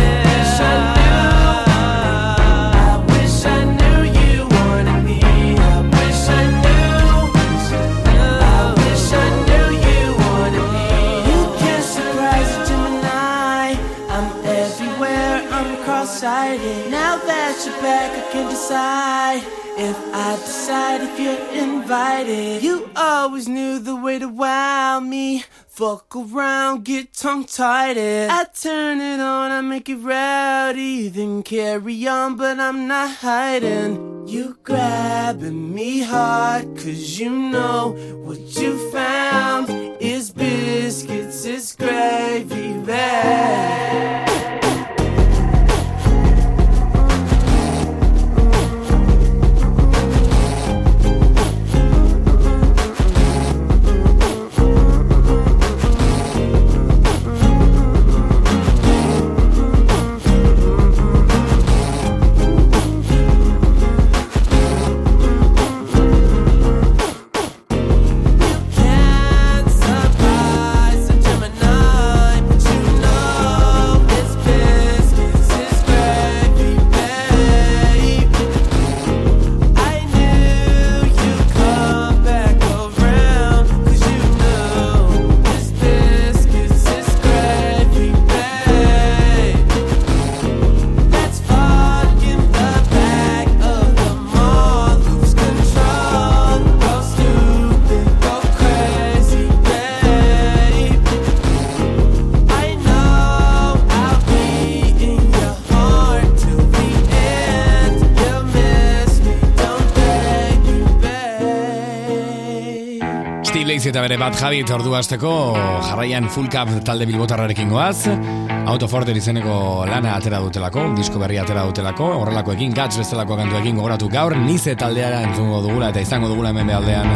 I wish I knew. I wish I knew you wanted me. I wish I knew. I wish I knew you wanted me. You can't surprise a Gemini. I'm everywhere, I'm cross-sighted. Now that you're back, I can decide if I decide if you're invited. You always knew the way to wow me. Fuck around, get tongue-tied. I turn it on, I make it rowdy. Then carry on, but I'm not hiding. You grabbing me hard, cause you know what you found is biscuits, it's gravy bag. Eta bere bat Javi ordu hasteko jarraian Full Cup talde bilbotarrarekin goaz. Autoforter izeneko lana atera dutelako, disko berria atera dutelako, horrelakoekin Gats bezalako kantuekin gogoratu gaur Nize taldeara entzungo dugula eta izango dugula hemen behaldean.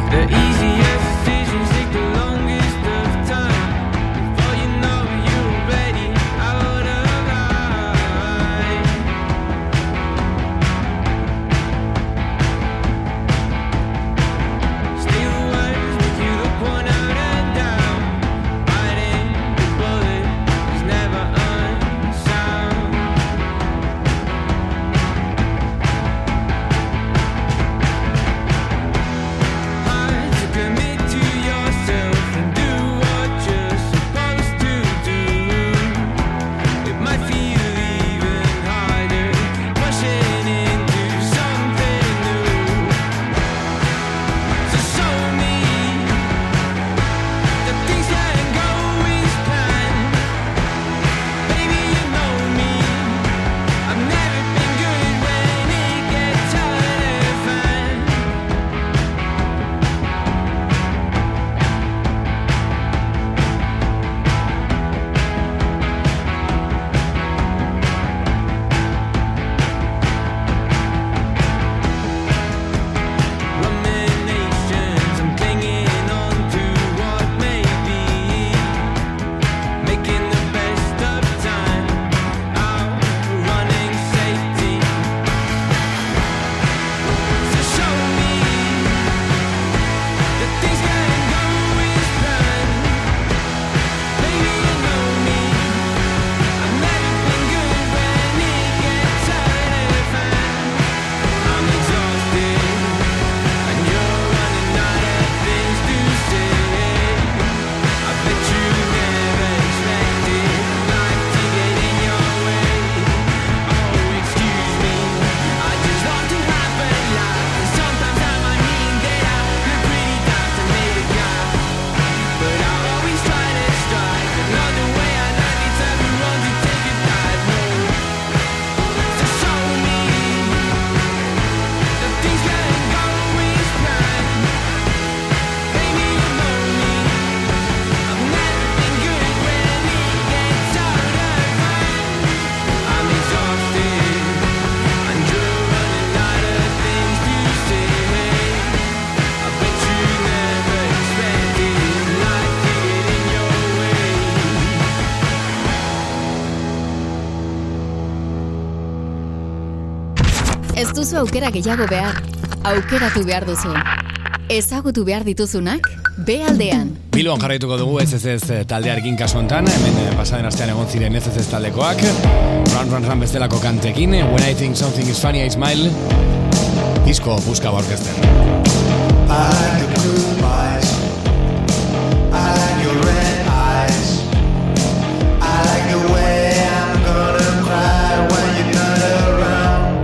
Ez duzu aukera gehiago behar. Aukeratu behar duzu. Ezagutu behar dituzunak, B aldean. Bilbon jarraituko dugu ez ez ez taldearekin kasu hontan, hemen pasaden astean egon ziren ez ez ez taldekoak. Run Run Run bestelako kantekin, When I Think Something Is Funny I Smile, disko buska orkesten. I like the blue eyes, I like your red eyes, I like the way I'm gonna cry when you're not around.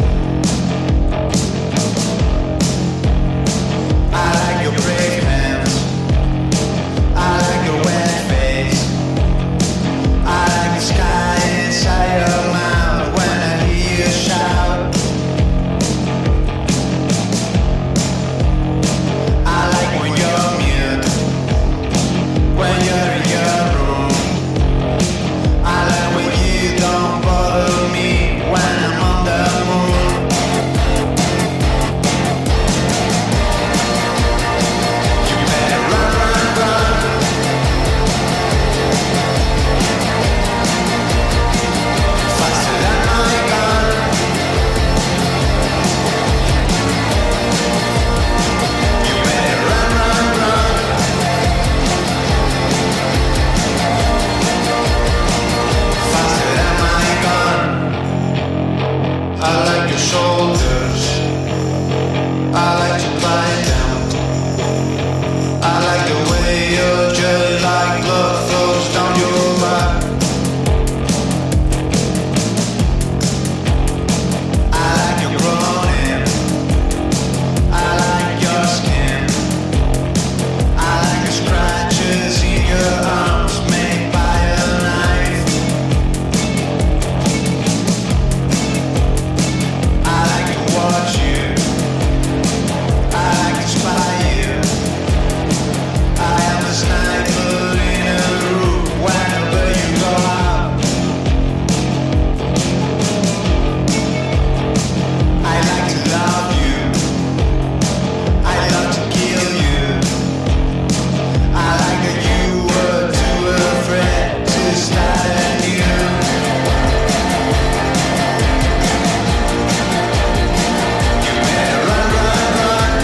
I like your brave hands, I like your wet face, I like the sky inside your mouth when I hear you shout. I like when you're mute, when you're in your room. I like when you don't bother me when I'm on the moon. You better run, run, run. Faster than my gun. You better run, run, run. Faster than my gun. I like your shoulders, I like to lie down, I like the way your jelly like blood flows down your back. I like your groaning, I like your skin, I like the scratches in your arms made by a knife. I like to watch you, I like to spy you. I am a sniper in a room whenever you go out. I like to love you, I love to kill you. I like that you were too afraid to start anew. You better run, run, run.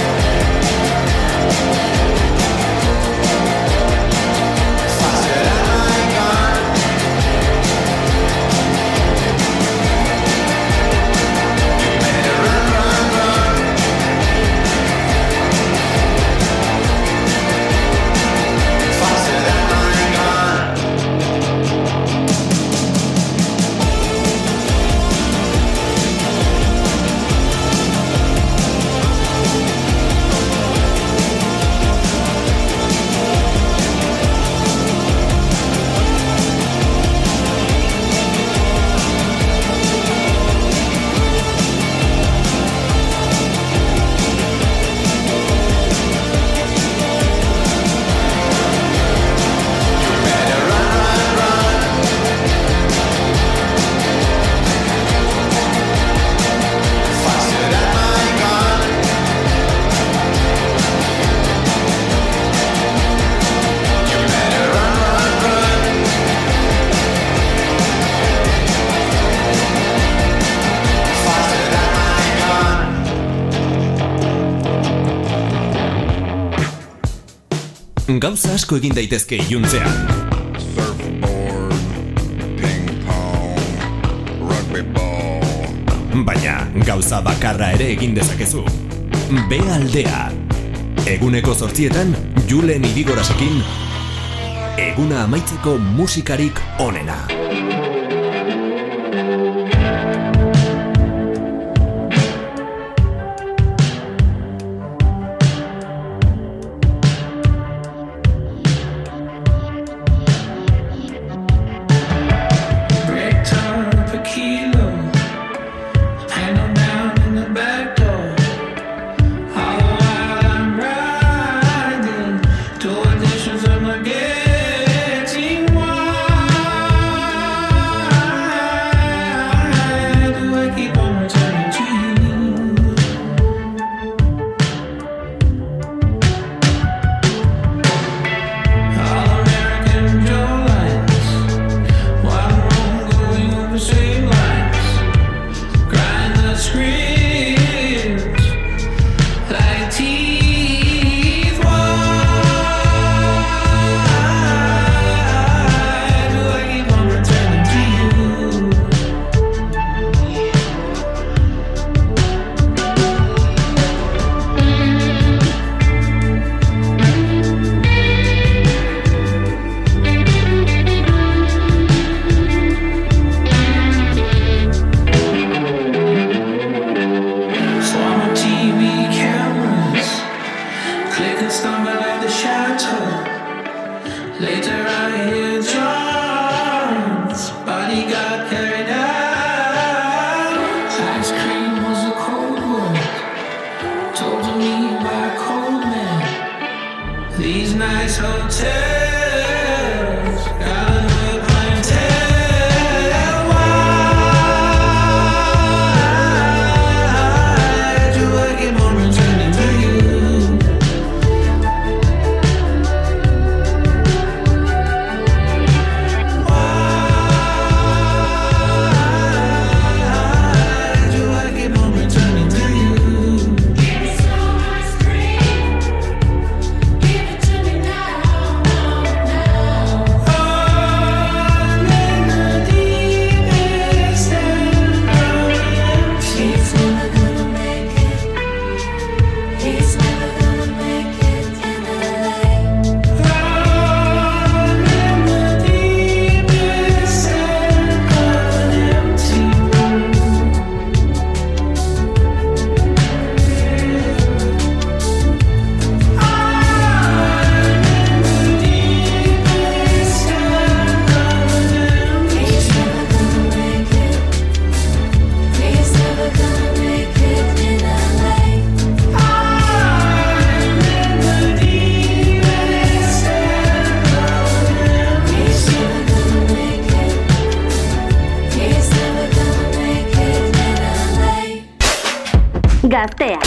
Faster than my gun. You better run, run, run. Faster than my gun. Faster than my gun. You better run, run, run. Faster than my gun. Gauza asko egin daitezke iluntzean. Baina gauza bakarra ere egin dezakezu. B aldea. Eguneko zortzietan Julen Irigorasekin eguna amaitzeko musikarik onena. Break time per kilo, hang on down in the back door. All while I'm riding, two editions of my getting wide. Do I keep on returning to you? All American Joe lines, one wrong going over same lines, grind the screen. Gaztea.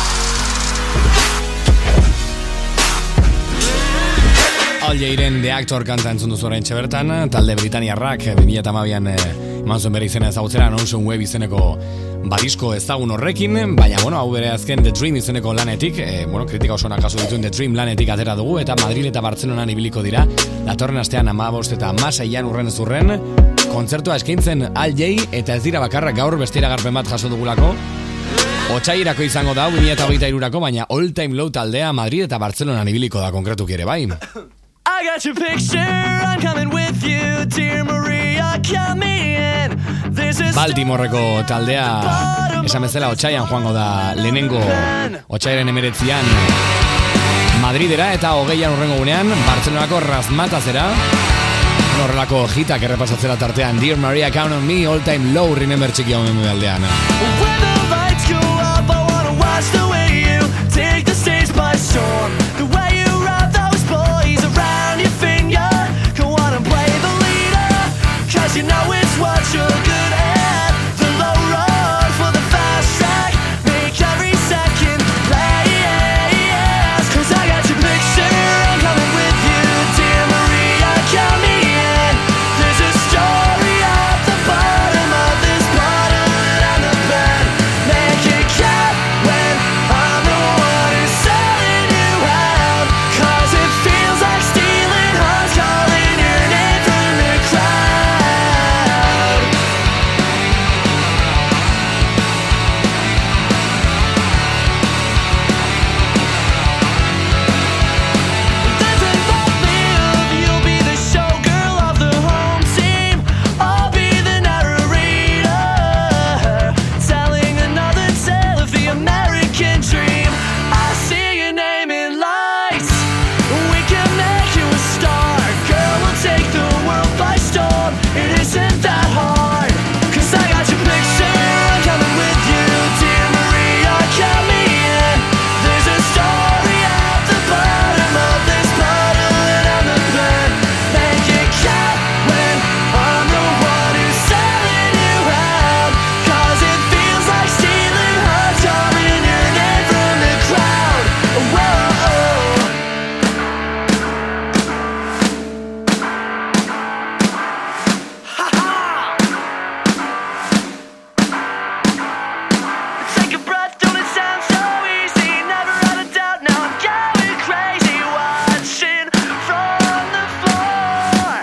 Al Jairen The Actor kanta entzun duzu oraintxe bertan, talde Britaniarrak bi mila hamabian eman zuen bere izena ezagutzera, Notion Wave izeneko badisko ezagun horrekin, baina, bueno, hau bere azken The Dream izeneko lanetik, e, bueno, kritika oso nakaso dituen The Dream lanetik atera dugu, eta Madrid eta Bartzelonan ibiliko dira, datorren astean hamabost eta hamaseian urren zurren, kontzertua eskaintzen Al Jai, eta ez dira bakarrak gaur beste iragarpen bat jaso dugulako, otsairako izango da, bi mila hogeita hirurako, baina All Time Low taldea Madrid eta Bartzelonan ibiliko da konkretuki ere bai. I got your picture, I'm coming with you, dear Maria, come in. This is Baltimoreko taldea esan bezala otsaian joango da lehenengo otsaiaren emeretzian Madridera eta hogeian urrengo gunean Bartzelonako Razmatazera horrelako hitak errepasatzera tartean Dear Maria, Count on Me, All Time Low, Remember txiki hau memu aldean. When the lights go up, I wanna watch the way you take the stage by storm. The way you wrap those boys around your finger. Go on and play the leader, cause you know it's what you're good at. The low road for the fast track, make every second last. Cause I got your picture, I'm coming with you, dear Maria, come in. There's a story at the bottom of this bottle and I'm the bed. Make it count when I'm the one who's selling you out. Cause it feels like stealing hearts, calling your name from the crowd. There's a love, you'll be the showgirl of the home team. I'll be the narrator, telling another tale of the American dream. I see your name in lights, we can make you a star. Girl, we'll take the world by storm, it isn't that hard. Cause I got your picture, I'm coming with you, dear Maria, come in. There's a story at the bottom of this bottle and I'm the pen. Make it count when I'm the one who's selling you out. Cause it feels like stealing hearts, calling your name from the crowd. Whoa. Take a breath, don't it sound so easy? Never had a doubt, now I'm going crazy. Watching from the floor.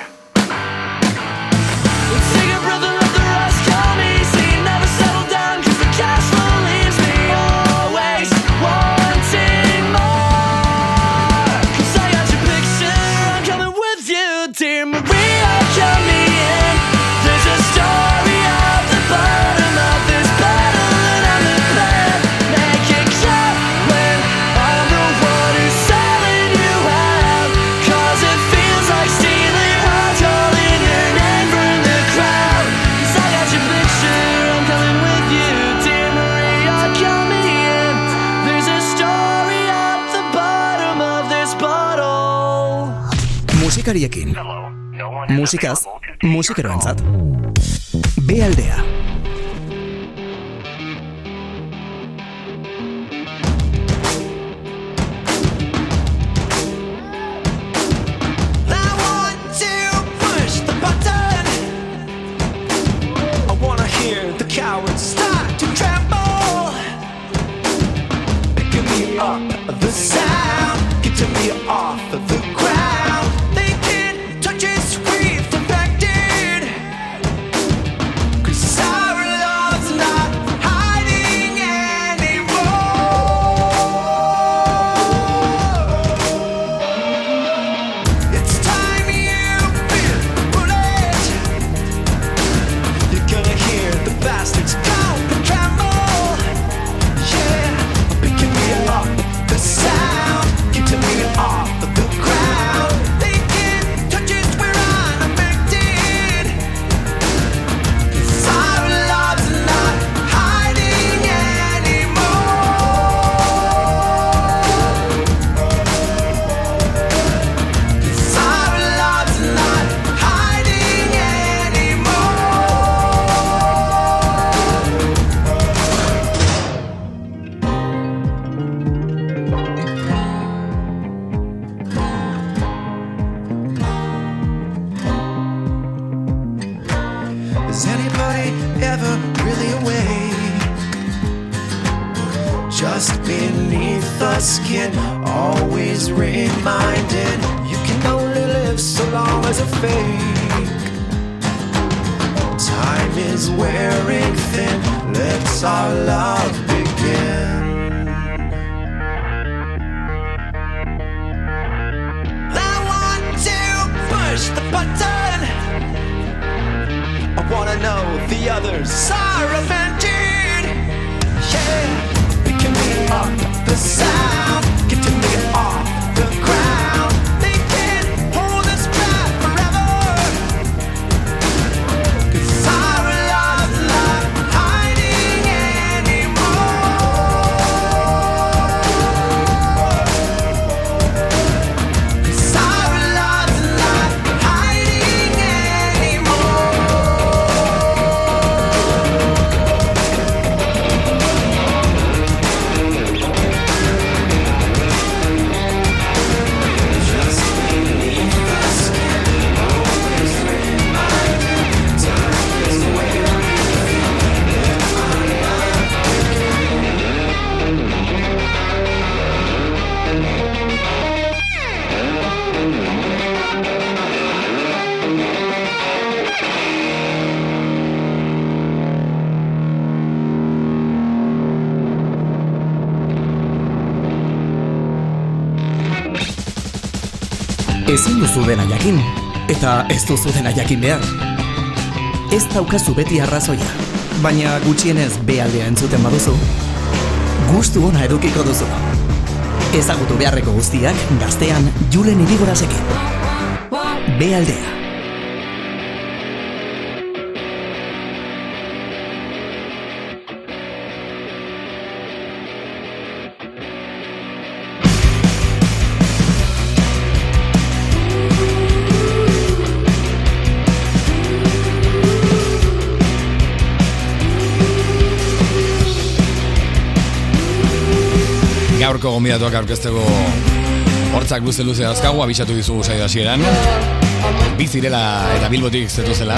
Take a breath and let the rest come easy. Never settle down cause the cash flow leaves me always wanting more. Cause I got your picture, I'm coming with you, dear Maria, come in. There's a story at the bottom of this bottle and I'm the plan. Make it count when I'm the one who's selling you out. Cause it feels like stealing hearts, calling your name from the crowd. Cause I got your picture, I'm coming with you, dear Maria, come in. There's a story at the bottom of this bottle. Musikariekin. Musikaz, musikeroentzat. B aldea. I want to push the button. I wanna hear the cowards start to tremble. Picking me up the sound, getting me off of the ground. They can't touch us, we've defected. Cause I Is anybody ever really awake? Just beneath the skin, always reminded you can only live so long as a fake. Time is wearing thin, let's our love begin. I want to push the button. I wanna know the others are avenged. Yeah. Up the sound, get to me off the ground. They can't hold us back forever. 'Cause our love's not hiding anymore. 'Cause our love's not hiding anymore. Ezin duzu dena jakin, eta ez duzu dena jakin behar. Ez daukazu beti arrazoia, baina gutxienez be aldea entzuten baduzu, gustu ona edukiko duzu. Ezagutu beharreko guztiak gaztean Julen Irigorazekin. Be aldea. Gaurko gonbidatuak aurkezteko hortzak luze-luze dauzkagu, abisatu dizugu saio hasieran. Bizirela eta Bilbotik zetuzela.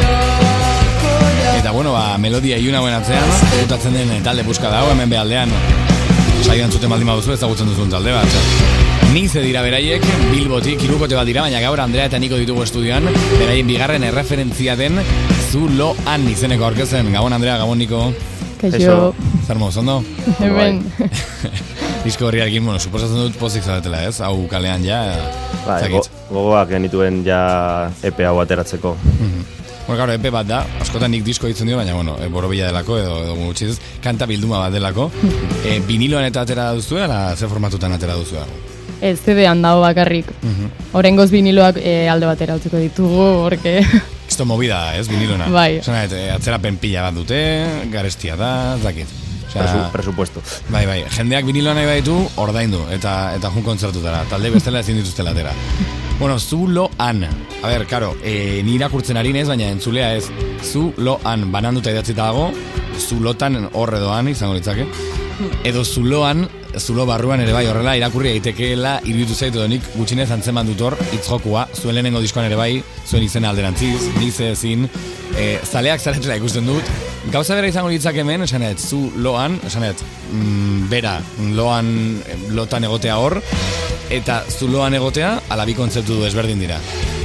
Eta bueno, ba, melodia iluna buen atzean, gutatzen den talde buska dago, hemen behaldean. Saioan zuten baldin baduzu ezagutzen duzun talde bat. Nize dira beraiek, Bilbotik, hirukote bat dira, baina gaur Andrea eta Niko ditugu estudioan, beraien bigarren erreferentzia den Zuloan izeneko aurkezen. Gabon Andrea, gabon Niko. Kaixo. Zer moz, ondo? Hemen. Disko horriarekin, bueno, suposatzen dut pozik zaretela, ez? Hau kalean ja, ba, go, gogoak genituen ja E P hau ateratzeko. Mm-hmm. Bueno, claro, E P bat da, askotan nik disko ditzen dio, baina, bueno, e, borobila delako, edo, edo gutxiz, kanta bilduma bat delako. E, viniloan eta atera duzu, ala ze formatutan atera duzu? Ez, C D-an dago bakarrik. Mm-hmm. Horengoz viniloak e, alde batera utziko ditugu, horke... Esto movida, ez, vinilona? Bai. Zona, atzerapen pila bat dute, garestia da, zakit. Presu, presupuesto. Bai, bai, jendeak viniloa nahi baditu, ordaindu, eta eta jun kontzertutara, talde bestela ezin dituztela atera. Bueno, Zuloan, a ber, karo, e, ni irakurtzen ari nez, baina entzulea ez, Zuloan, bananduta idatzita dago, Zulotan horredoan izango litzake, edo Zuloan, Zulo barruan ere bai horrela irakurri daitekeela iruditu zaitu edo nik gutxinez antzeman dut hor itzjokua, zuen lehenengo diskoan ere bai, zuen izena alderantziz, nize ezin, e, zaleak zaretela ikusten dut, gauza bera izango litzak hemen, esanet, zu loan, esanet, mm, bera, loan, lotan egotea hor, eta zu loan egotea, ala bi kontzeptu du ezberdin dira.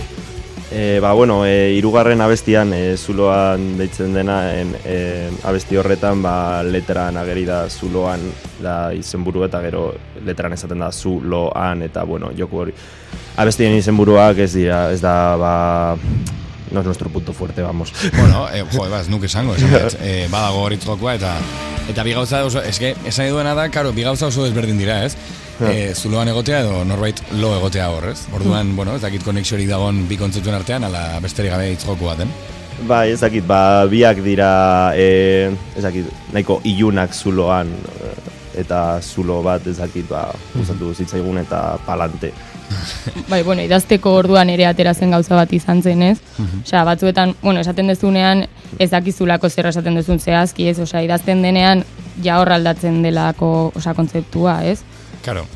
E, ba, bueno, e, irugarren abestian, e, Zuloan deitzen dena, en, e, abesti horretan, ba, letran ageri da Zuloan da izenburu eta gero letran esaten da Zuloan, eta, bueno, joku hori. Abestien izenburuak ez dira, ez da, ba... No es nuestro punto fuerte, vamos. Bueno, eh, jo, eba, ez nuke esango, esan, eh, badago hori txokua, eta eta bi gauza oso, eske, esan eduena da, karo, bi gauza oso ezberdin dira, ez? Eh, Zuloan egotea edo norbait lo egotea hor, ez? Orduan, bueno, ez dakit konexiorik dagon bi kontzeptuen artean, ala besterik gabe itzjoku baten. Bai, ez dakit, ba, biak dira, eh, ez dakit, nahiko ilunak Zuloan, eta Zulo bat, ez dakit, ba, gustatu zitzaigun eta palante. Bai, bueno, idazteko orduan ere aterazen gauza bat izan zen, ez? Osea, batzuetan, bueno, esaten dezunean ez dakizulako zer esaten dezun zehazki, ez? Osea, idazten denean ja hor aldatzen delako, osea, kontzeptua, ez? Claro.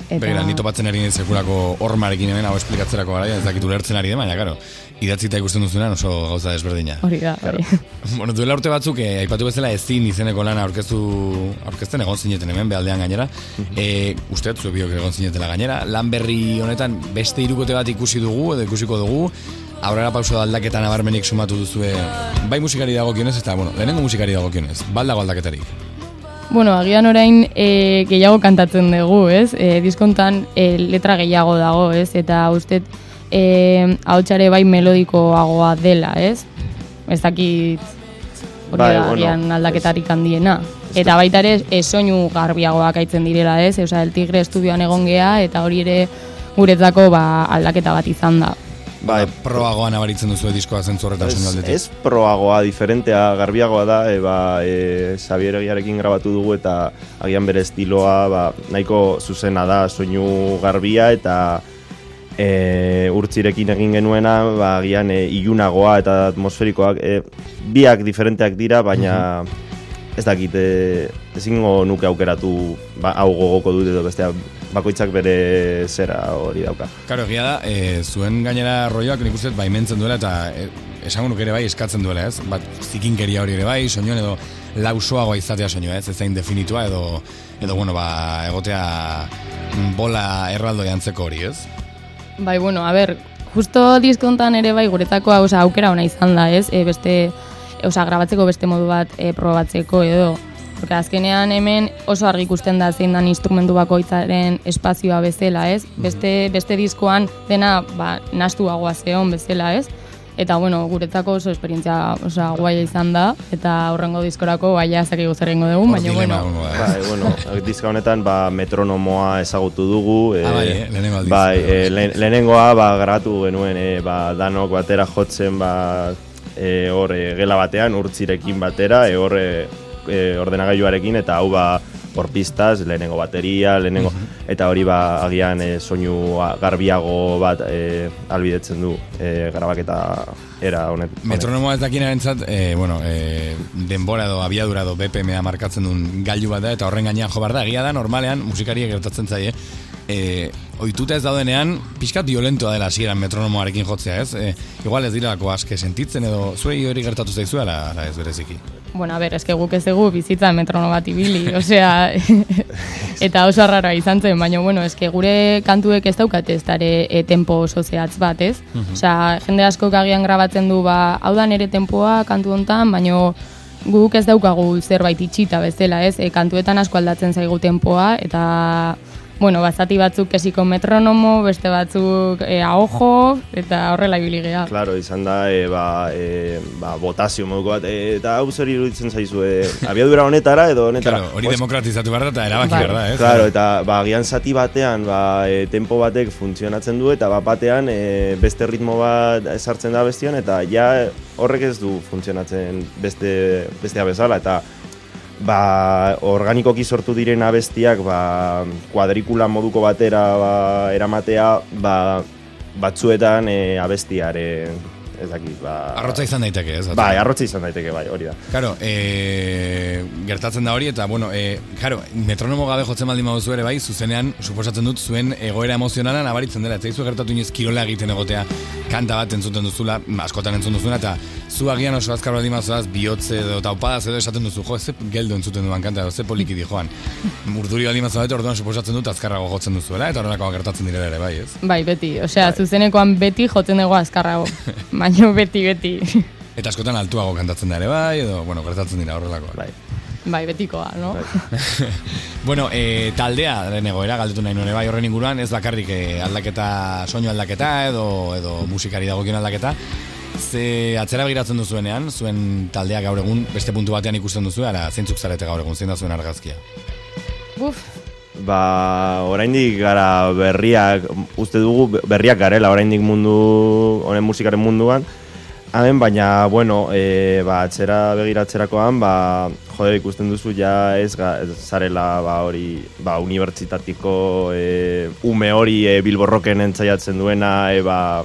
Eta... Begira, ni topatzen ari nien sekulako hormarekin hemen hau esplikatzerako garaia, ez dakit ulertzen ari den, baina, karo, idatzita ikusten duzunean oso gauza desberdina. Hori da, hori. Bueno, duela urte batzuk, eh, aipatu bezala ezin izeneko lana aurkeztu, aurkezten egon zineten hemen, behaldean gainera. eh, uste, zu biok egon zinetela gainera. Lan berri honetan beste hirukote bat ikusi dugu, edo ikusiko dugu, aurrera pauso aldaketa nabarmenik sumatu duzue, bai musikari dagokionez, eta, bueno, lehenengo musikari dagokionez, baldago aldaketarik. Bueno, agian orain e, gehiago kantatzen dugu, ez? E, diskontan e, letra gehiago dago, ez? Eta uste e, ahotsare bai melodikoagoa dela, ez? Ez dakit hori Bai, da bueno, agian aldaketarik handiena. Eta baita ere e, soinu garbiagoak aitzen direla, ez? Osea, El Tigre estudioan egon gea, eta hori ere guretzako ba, aldaketa bat izan da. Bai, proagoa nabaritzen duzu diskoa zentzu horretan soinu aldetik. Ez proagoa, diferentea, garbiagoa da, e, ba, e, Xabier Egiarekin grabatu dugu eta agian bere estiloa ba, nahiko zuzena da, soinu garbia eta e, urtzirekin egin genuena, ba, agian e, ilunagoa eta atmosferikoak, e, biak diferenteak dira, baina ez dakit, e, ezingo nuke aukeratu ba, hau gogoko dut edo bestea, bakoitzak bere zera hori dauka. Karo, egia da, e, zuen gainera rolloak nik uste baimentzen duela eta e, esango nuke ere bai eskatzen duela, ez? Bat zikinkeria hori ere bai, soinuan edo lausoagoa izatea soinua, ez? Ezain definitua edo, edo bueno, ba, egotea bola erraldo jantzeko hori, ez? Bai, bueno, a ber, justo diskontan ere bai guretzako oza, aukera ona izan da, ez? E, beste, oza, grabatzeko beste modu bat e, probatzeko edo. Porque azkenean hemen oso argi ikusten da zein dan instrumentu bakoitzaren espazioa bezala, ez? Beste, beste diskoan dena ba, nastuagoa zeon bezala, ez? Eta, bueno, guretzako oso esperientzia oso guaia izan da, eta horrengo diskorako baina zakigu zer egingo dugu, baina, bueno. Bai, bueno, diska honetan ba, metronomoa ezagutu dugu. E, ah, bai, eh? lehenengo aldiz. Bai, e, le, lehenengoa ba, grabatu genuen, e, ba, danok batera jotzen, ba, e, hor, e, gela batean, urtzirekin batera, e, hor, e, E, ordenagailuarekin eta hau ba por pistas, lehenengo bateria, lehenengo uh-huh. eta hori ba agian e, soinu garbiago bat e, albidetzen du e, grabaketa era honet. Metronomoa ez dakinarentzat, e, bueno, e, denbora edo abiadura edo B P M-a markatzen duen gailu bat da eta horren gainean jo behar da, egia da normalean musikariek gertatzen zaie. E, ohituta ez daudenean, pixkat violentoa dela hasieran metronomoarekin jotzea, ez? E, igual ez direlako aske sentitzen edo zuei hori gertatu zaizu ala, ala ez bereziki. Bueno, a ber, eske guk ez dugu bizitza metrono bat ibili, osea, eta oso arraroa izan zen, baina, bueno, eske gure kantuek ez daukate ez dare e, tempo oso zehatz bat, ez? Uh-huh. Osea, jende asko agian grabatzen du, ba, hau da nere tempoa kantu hontan, baina guk ez daukagu zerbait itxita bezala, ez? E, kantuetan asko aldatzen zaigu tempoa, eta... Bueno, bazati batzuk kesiko metronomo, beste batzuk e, ahojo, eta horrela ibili gea. Claro, izan da, e, ba, e, ba, botazio moduko bat, e, eta hau zer iruditzen zaizu, e, abiadura honetara edo honetara. Claro, hori demokratizatu behar da eta erabaki behar da, ez? Claro, eta ba, gian zati batean, ba, e, tempo batek funtzionatzen du, eta bat batean e, beste ritmo bat sartzen da bestian, eta ja horrek ez du funtzionatzen beste, bestea bezala, eta ba, organikoki sortu diren abestiak ba, kuadrikula moduko batera ba, eramatea ba, batzuetan e, abestiaren ez dakit, ba... Arrotza izan daiteke, ez? Bai, arrotza izan daiteke, bai, hori da. Karo, e, gertatzen da hori, eta, bueno, e, karo, metronomo gabe jotzen baldin baduzu ere, bai, zuzenean, suposatzen dut, zuen egoera emozionala nabaritzen dela, eta izu gertatu inoiz kirola egiten egotea kanta bat entzuten duzula, askotan entzun duzuna, eta zu agian oso azkar baldin baduzuaz, bihotze edo taupadaz edo esaten duzu, jo, ze geldo entzuten duan kanta, edo ze poliki di joan. Urduri baldin baduzu orduan suposatzen dut azkarrago jotzen duzuela, eta horrelakoa gertatzen direla ere, bai, ez? Bai, beti, osea, bai. Zuzenekoan beti jotzen dugu azkarrago. Baina beti, beti. Eta askotan altuago kantatzen da ere, bai, edo, bueno, gertatzen dira horrelako. Bai. Bai, betikoa, no? Bai. Bueno, e, taldea, egoera, galdetu nahi nore, bai, horren inguruan, ez bakarrik e, aldaketa, soinu aldaketa, edo, edo musikari dagokion aldaketa. Ze atzera begiratzen duzuenean, zuen taldeak gaur egun, beste puntu batean ikusten duzu, ara zeintzuk zarete gaur egun, zein da zuen argazkia? Buf. Ba, oraindik gara berriak, uste dugu berriak garela oraindik mundu, honen musikaren munduan. Hemen, baina, bueno, e, ba, atzera begiratzerakoan, ba, jode ikusten duzu ja ez, ga, ez zarela ba, hori, ba, unibertsitatiko e, ume hori e, Bilborroken entzaiatzen duena, e, ba,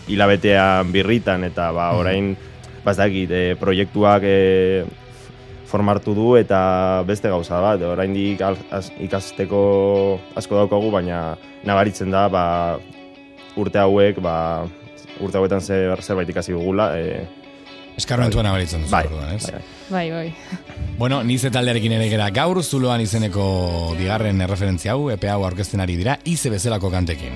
hilabetean birritan, eta ba, orain, ba, ez dakit, e, proiektuak e, formartu du eta beste gauza bat, oraindik ikasteko asko daukagu, baina nabaritzen da ba, urte hauek, ba, urte hauetan zer, zerbait ikasi dugula. E, Eskarmentua nabaritzen duzu. Bai, orduan, ez? Bai, bai. Bueno, Nize taldearekin ere gera gaur, zuloan izeneko bigarren erreferentzia hau, epe hau aurkezten ari dira, Ize bezalako kantekin.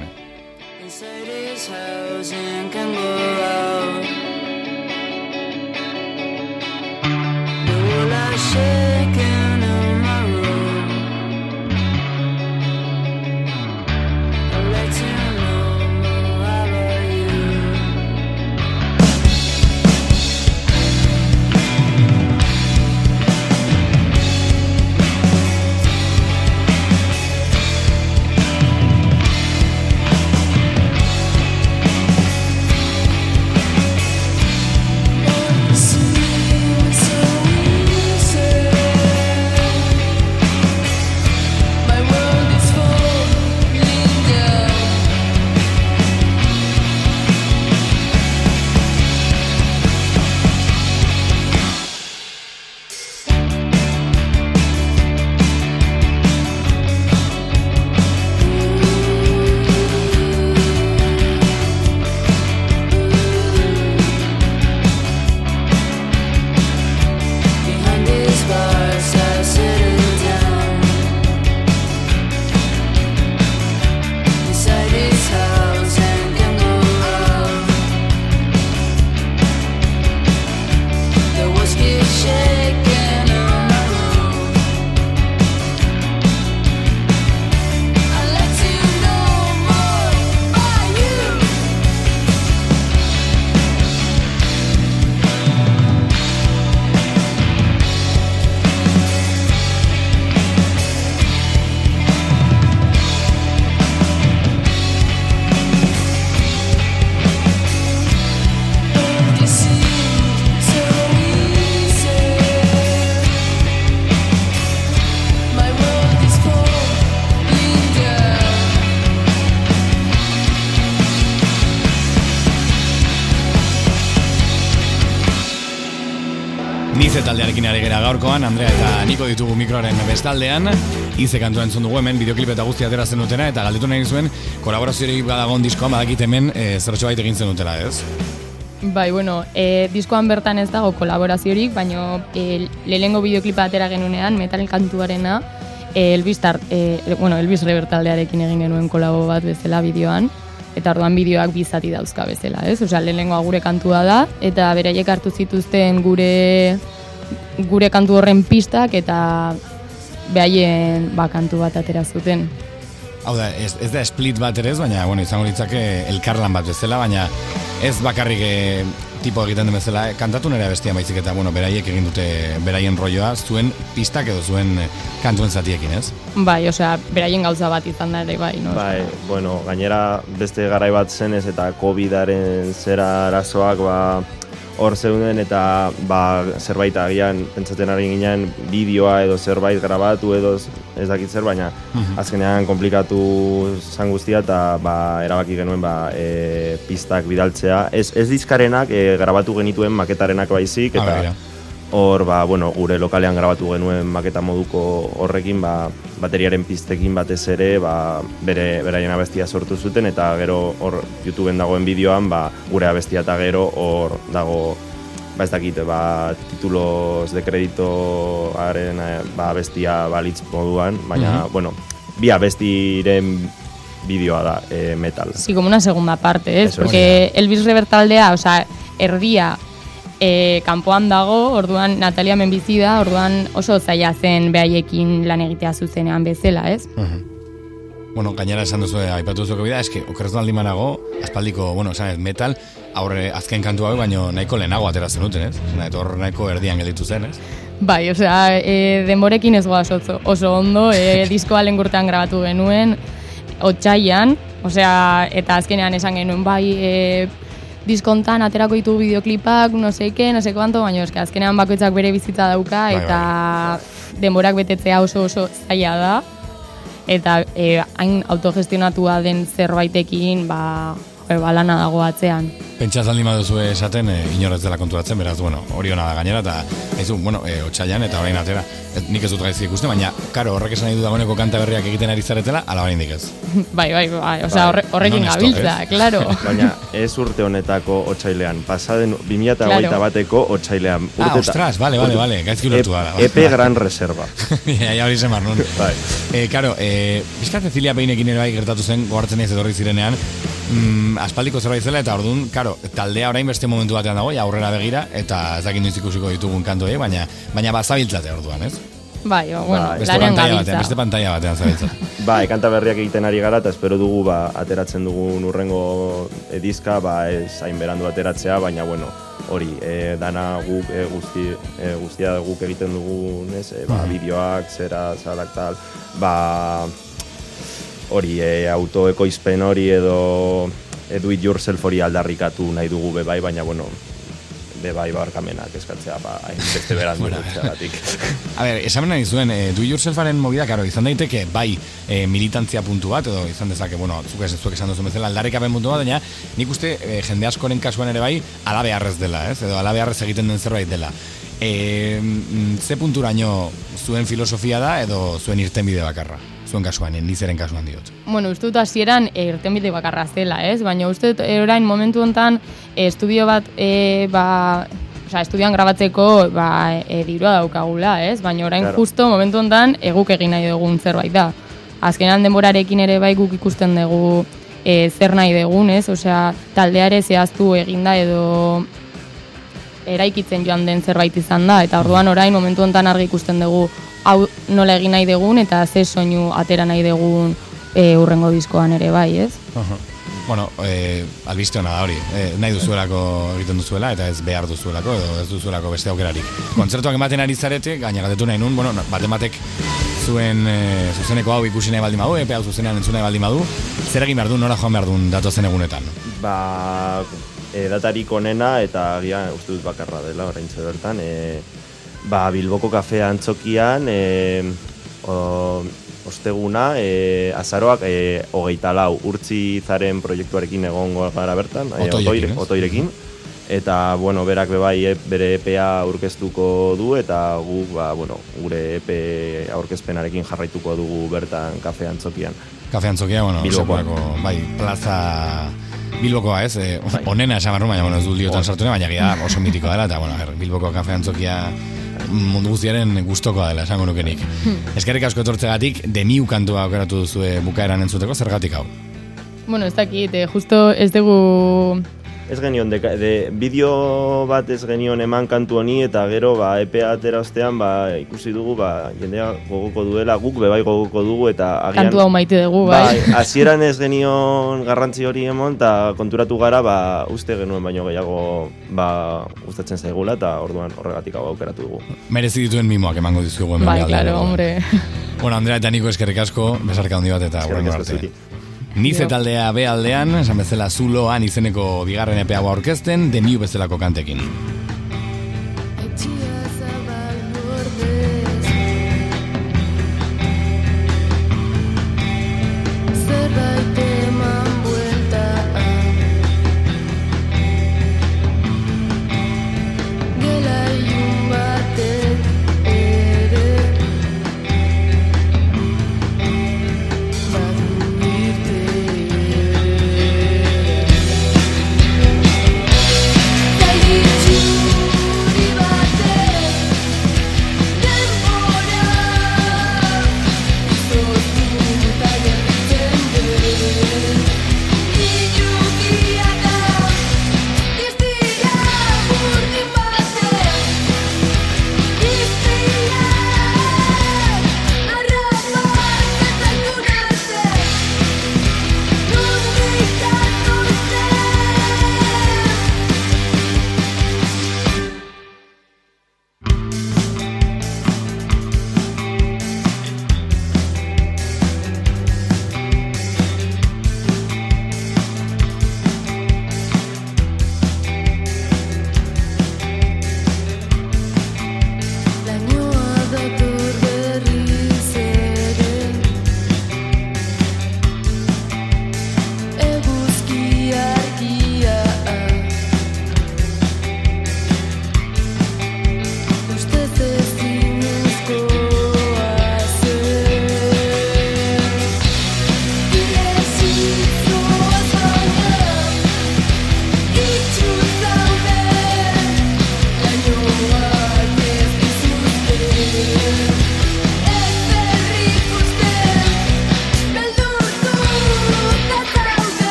Shaking in my room, I'll let you know more about you. Nize taldearekin ari gera gaurkoan, Andrea eta Niko ditugu mikroaren bestaldean. Ize kantua entzun dugu hemen, bideoklip eta guztia atera zen dutena, eta galdetu nahi zuen, kolaboraziorik badagon diskoan, badakit hemen, e, zertxo bait egin zen dutela, ez? Bai, bueno, e, diskoan bertan ez dago kolaboraziorik, baina e, lehengo bideoklipa atera genunean, metal kantuarena, e, Elvis, tar, e, bueno, Elvis Rebert taldearekin egin genuen kolabo bat bezala bideoan, eta orduan bideoak bizati dauzka bezala, ez? Osea, lehenengoa gure kantua da, eta beraiek hartu zituzten gure gure kantu horren pistak, eta behaien ba, kantu bat atera zuten. Hau da, ez, ez da split bat ere ez, baina, bueno, izango litzake elkarlan bat bezala, baina ez bakarrik e, tipo egiten den bezala, kantatu nire bestia baizik eta, bueno, beraiek egin dute beraien rolloa, zuen pistak edo zuen kantuen zatiekin, ez? Bai, osea, beraien gauza bat izan da ere, bai, no? Bai, bueno, gainera beste garai bat zenez eta COVIDaren zera arazoak, ba, hor zeuden eta ba, zerbait agian pentsatzen ari ginen bideoa edo zerbait grabatu edo ez dakit zer, baina uh-huh. azkenean komplikatu zan guztia eta ba, erabaki genuen ba, e, pistak bidaltzea. Ez, ez dizkarenak e, grabatu genituen maketarenak baizik eta hor ba, bueno, gure lokalean grabatu genuen maketa moduko horrekin ba, bateriaren pistekin batez ere ba, bere beraien abestia sortu zuten eta gero hor YouTubeen dagoen bideoan ba, gure abestia eta gero hor dago ba ez dakit, ba, titulos de kreditoaren ba, abestia balitz moduan, baina, uh-huh. bueno, bi abestiren bideoa da e, metal. Sí, como una segunda parte, ¿eh? Porque Elvis Rebert taldea, o sea, erdia E, kanpoan dago, orduan Natalia hemen bizi da, orduan oso zaila zen behaiekin lan egitea zuzenean bezala, ez? Uh-huh. Bueno, gainera esan duzu, aipatu duzuko bida, eske, okerretu aldi manago, aspaldiko, bueno, esan ez, metal, aurre azken kantu hau, baino nahiko lehenago atera zenuten, ez? Eta hor nahiko erdian gelditu zen, ez? Bai, osea, e, denborekin ez goaz oso, oso ondo, e, diskoa lengurtean grabatu genuen, otsaian, osea, eta azkenean esan genuen, bai, e, diskontan aterako ditu bideoklipak, no seke, no seke banto, baina eske azkenean bakoitzak bere bizitza dauka, eta bai, bai. denborak betetzea oso oso zaila da, eta e, hain autogestionatua den zerbaitekin, ba, ba lana dago atzean. Pentsaz aldi maduzu esaten, e, inorrez dela konturatzen, beraz, bueno, hori hona da gainera, eta ez du, bueno, e, otsailan eta orain atera, et, nik ez dut gaizki ikusten, baina, karo, horrek esan nahi du dagoeneko kanta berriak egiten ari zaretela, ala orain dik ez. Bai, bai, bai, osea, horre, horrekin non gabiltza, esto, claro. Baina ez urte honetako otsailean, pasaden bi mila hogeita bateko otsailean. Ah, ostras, vale, vale, vale, gaizki ulertu da. E P Gran Reserva. Ja, ja hori zemar nun. Bai. Eh, karo, eh, bizka Cecilia Peinekin ere bai gertatu zen, gogartzen ez etorri zirenean, mm, aspaldiko zerbait zela, eta orduan, karo, taldea orain beste momentu batean dago, ja aurrera begira, eta ez dakit noiz ikusiko ditugun kantoei, baina baina bazabiltzate orduan, ez? Bai, o, bueno, beste lanean pantalla gabiltza. batean, beste pantalla batean zabiltza. Bai, kanta berriak egiten ari gara, eta espero dugu, ba, ateratzen dugun urrengo edizka, ba, ez hain berandu ateratzea, baina, bueno, hori, e, dana guk, e, guzti, e, guztia guk egiten dugun, ez, e, ba, bideoak, zera, zalak, tal, ba, hori, e, autoekoizpen hori edo e, do it yourself hori aldarrikatu nahi dugu bebai, baina, bueno, bebai barkamenak eskatzea, ba, hain beste berandu Bueno, dutxeagatik. A ber, esamen nahi zuen, e, do it yourselfaren movida, karo, izan daiteke, bai, e, militantzia puntu bat, edo izan dezake, bueno, zuk ez zuek esan duzu bezala, aldarrikapen puntu bat, baina nik uste e, jende askoren kasuan ere bai, ala beharrez dela, ez? Edo ala beharrez egiten den zerbait dela. E, ze punturaino zuen filosofia da, edo zuen irtenbide bakarra? Zuen kasuan, nizeren kasuan diot. Bueno, uste dut hasieran e, irtenbide bakarra zela, ez? Baina uste dut e, orain momentu honetan e, estudio bat, e, ba, osea, estudioan grabatzeko ba, e, dirua daukagula, ez? Baina orain Claro. justo momentu honetan eguk egin nahi dugun zerbait da. Azkenan denborarekin ere bai guk ikusten dugu e, zer nahi dugun, ez? Osea, taldeare zehaztu eginda edo eraikitzen joan den zerbait izan da, eta orduan orain momentu honetan argi ikusten dugu hau nola egin nahi dugun eta ze soinu atera nahi dugun e, urrengo diskoan ere bai, ez? Aha. Bueno, eh, albiste hona da hori, eh, nahi duzuelako egiten duzuela, eta ez behar duzuelako, edo ez duzuelako beste aukerarik. Kontzertuak ematen ari zarete, gaina galdetu nahi nun, bueno, baten batek zuen e, zuzeneko hau ikusi nahi baldin badu, epe hau zuzenean entzun nahi baldin badu, zer egin behar du, nora joan behar duen datozen egunetan? Ba, e, datarik onena eta agian uste dut bakarra dela oraintxe bertan. E, ba, Bilboko kafea antzokian, e, o, osteguna, e, azaroak e, hogeita lau urtzi zaren proiektuarekin egongo gara bertan, e, Otoirekin, otoire- ez? otoirekin. Eta, bueno, berak bebai e, bere E P A aurkeztuko du, eta guk, ba, bueno, gure E P aurkezpenarekin jarraituko dugu bertan kafe antzokian. Kafe antzokia, bueno, Bilbokoa. sekulako, bai, plaza Bilbokoa, ez? Eh, onena esan barru, baina, bueno, ez dut liotan sartu nahi, baina gira oso mitikoa dela, eta, bueno, a ver, Bilboko kafe antzokia mundu guztiaren gustokoa dela, esango nukenik. Eskerrik asko etortzegatik, The New kantua aukeratu duzue bukaeran entzuteko, zergatik hau? Bueno, ez dakit, eh, justo ez dugu... Ez genion, de, de bideo bat ez genion eman kantu honi, eta gero ba, E P A atera ostean ba, ikusi dugu ba, jendea gogoko duela, guk bebai gogoko dugu, eta agian... Kantu hau maite dugu, bai. Bai, hasieran ez genion garrantzi hori emon, eta konturatu gara, ba, uste genuen baino gehiago ba, gustatzen zaigula, eta orduan horregatik hau aukeratu dugu. Merezi dituen mimoak emango dizugu hemen. Bai, aldean. claro, hombre. Bueno, Andrea eta Niko eskerrik asko, besarka handi bat eta Eskerrik hurrengo asko arte. zuri. Nize taldea B aldean, esan bezala Zuloan izeneko bigarren E P A aurkezten, The New bezalako kantekin. Zerbait eman buelta Gela ilun batek ere Badu irteera Zaititzu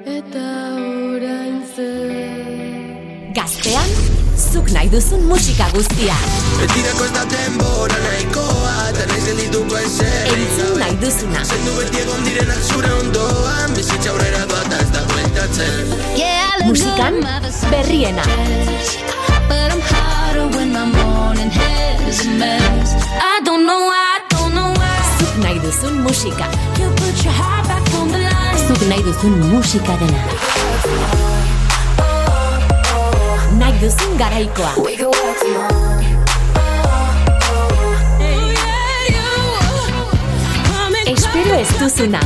eta orain zer. Gaztean, zuk nahi duzun musika guztia. Betirako ez da denbora nahikoa, eta naiz geldituko ezer. Entzun nahi duzuna. Zendu beti egon direnak zure ondoan, bizitza aurrera doa ez da bueltatzen. Musikan, berriena. But I'm harder when my morning hair's a mess. I don't know why, I don't know why. Zuk nahi duzun musika. You put your heart back on the line. Zuk nahi duzun musika dena. Nahi duzun garaikoa. Espero ez duzuna.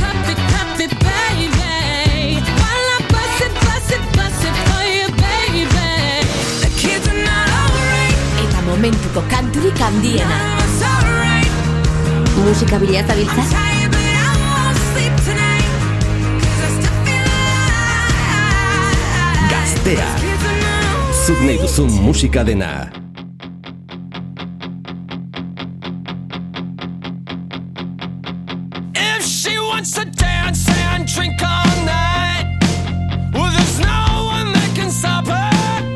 Eta momentuko kanturik handiena. Musika bilata biltza? Gaztea. Zuk nahi duzun musika dena. If she wants to dance and drink all night, well, there's no one that can stop her.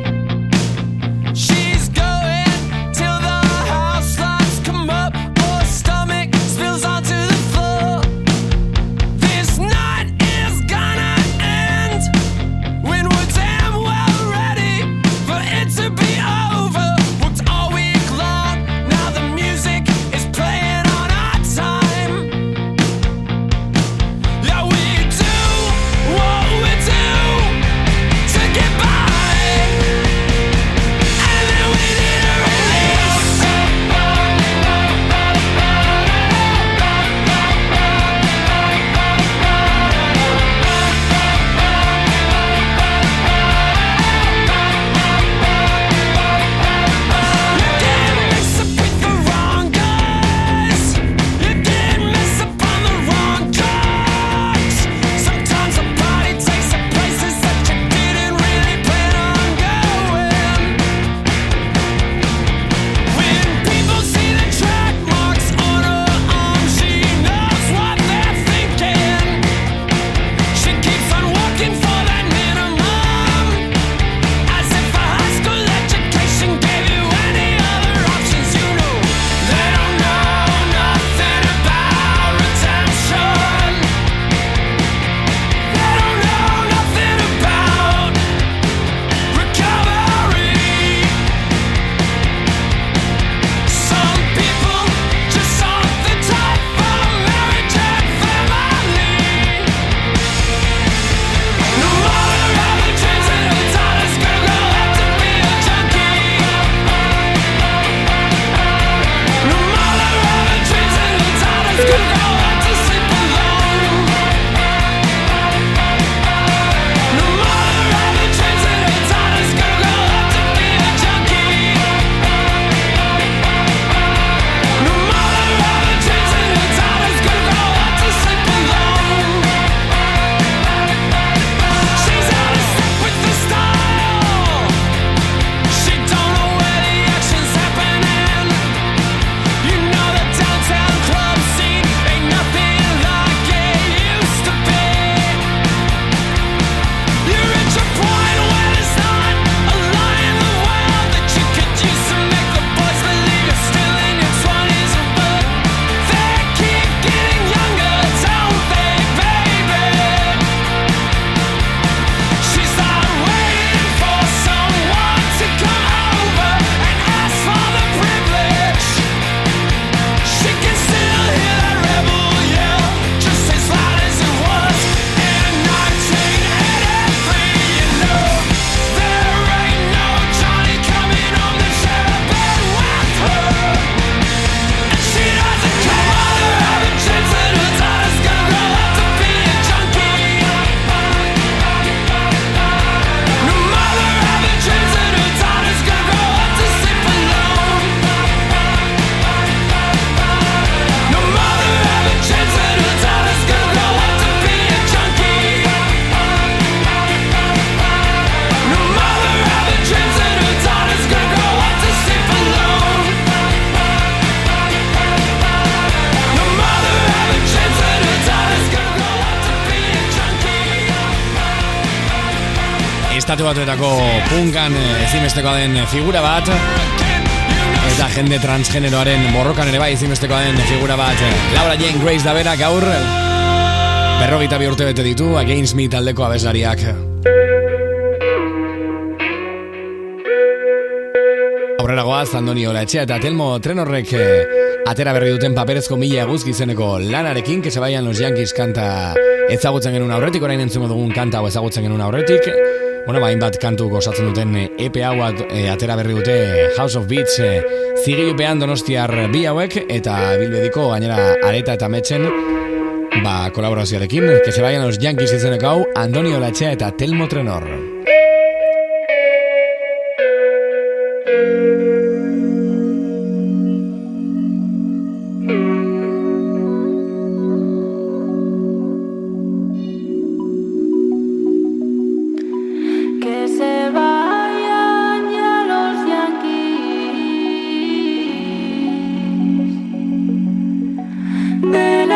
She's going till the house lights come up, or her stomach spills onto the floor. This night is gonna end when we're damn well ready for it to be over. Worked all week long, now the music is playing on our time. Yeah, we do Estatu Batuetako punkan ezinbestekoa den figura bat, eta jende transgeneroaren borrokan ere bai ezinbestekoa den figura bat. Laura Jane Grace da bera gaur berrogeita bi urte bete ditu Against Me taldeko abeslariak. Aurrera goaz, Andoni Olaetxea eta Telmo Trenorrek atera berri duten paperezko mila eguzki izeneko lanarekin, que se vayan los Yankees kanta ezagutzen genuen aurretik, orain entzungo dugun kanta hau ezagutzen genuen aurretik. Bueno, ba, hainbat kantu gozatzen duten E P hau e, atera berri dute House of Beats e, zigilupean Donostiar bi hauek, eta bilbediko gainera Areta eta Metzen ba, kolaborazioarekin, que se vayan los Yankees izeneko hau, Andoni Olaetxea eta Telmo Trenor.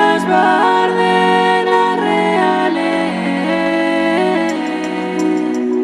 Bardenas reales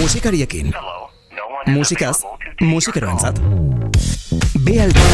Musikariekin. Musikaz, musikeroentzat. B aldea.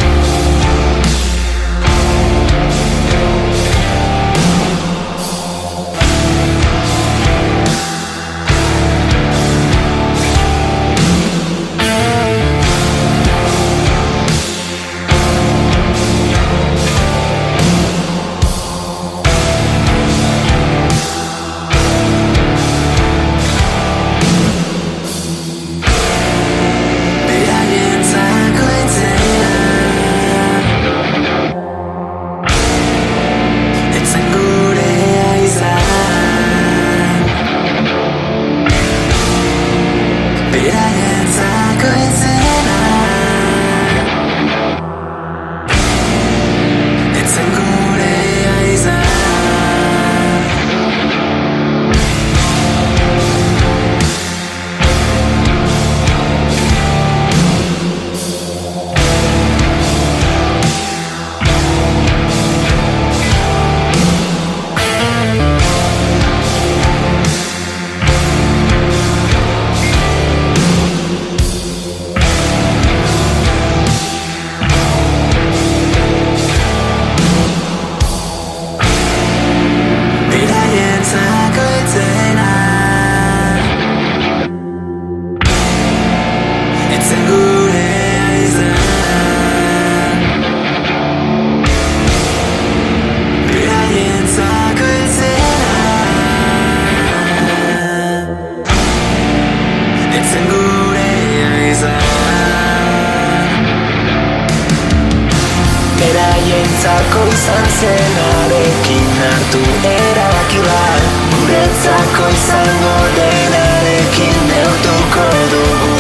Beraientzako izan zenarekin hartu erabaki bat, guretzako izango denarekin neurtuko dugu.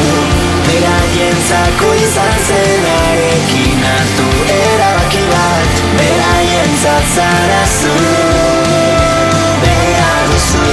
Beraientzako izan zenarekin hartu erabaki bat, beraientzat zara zu, behar duzu.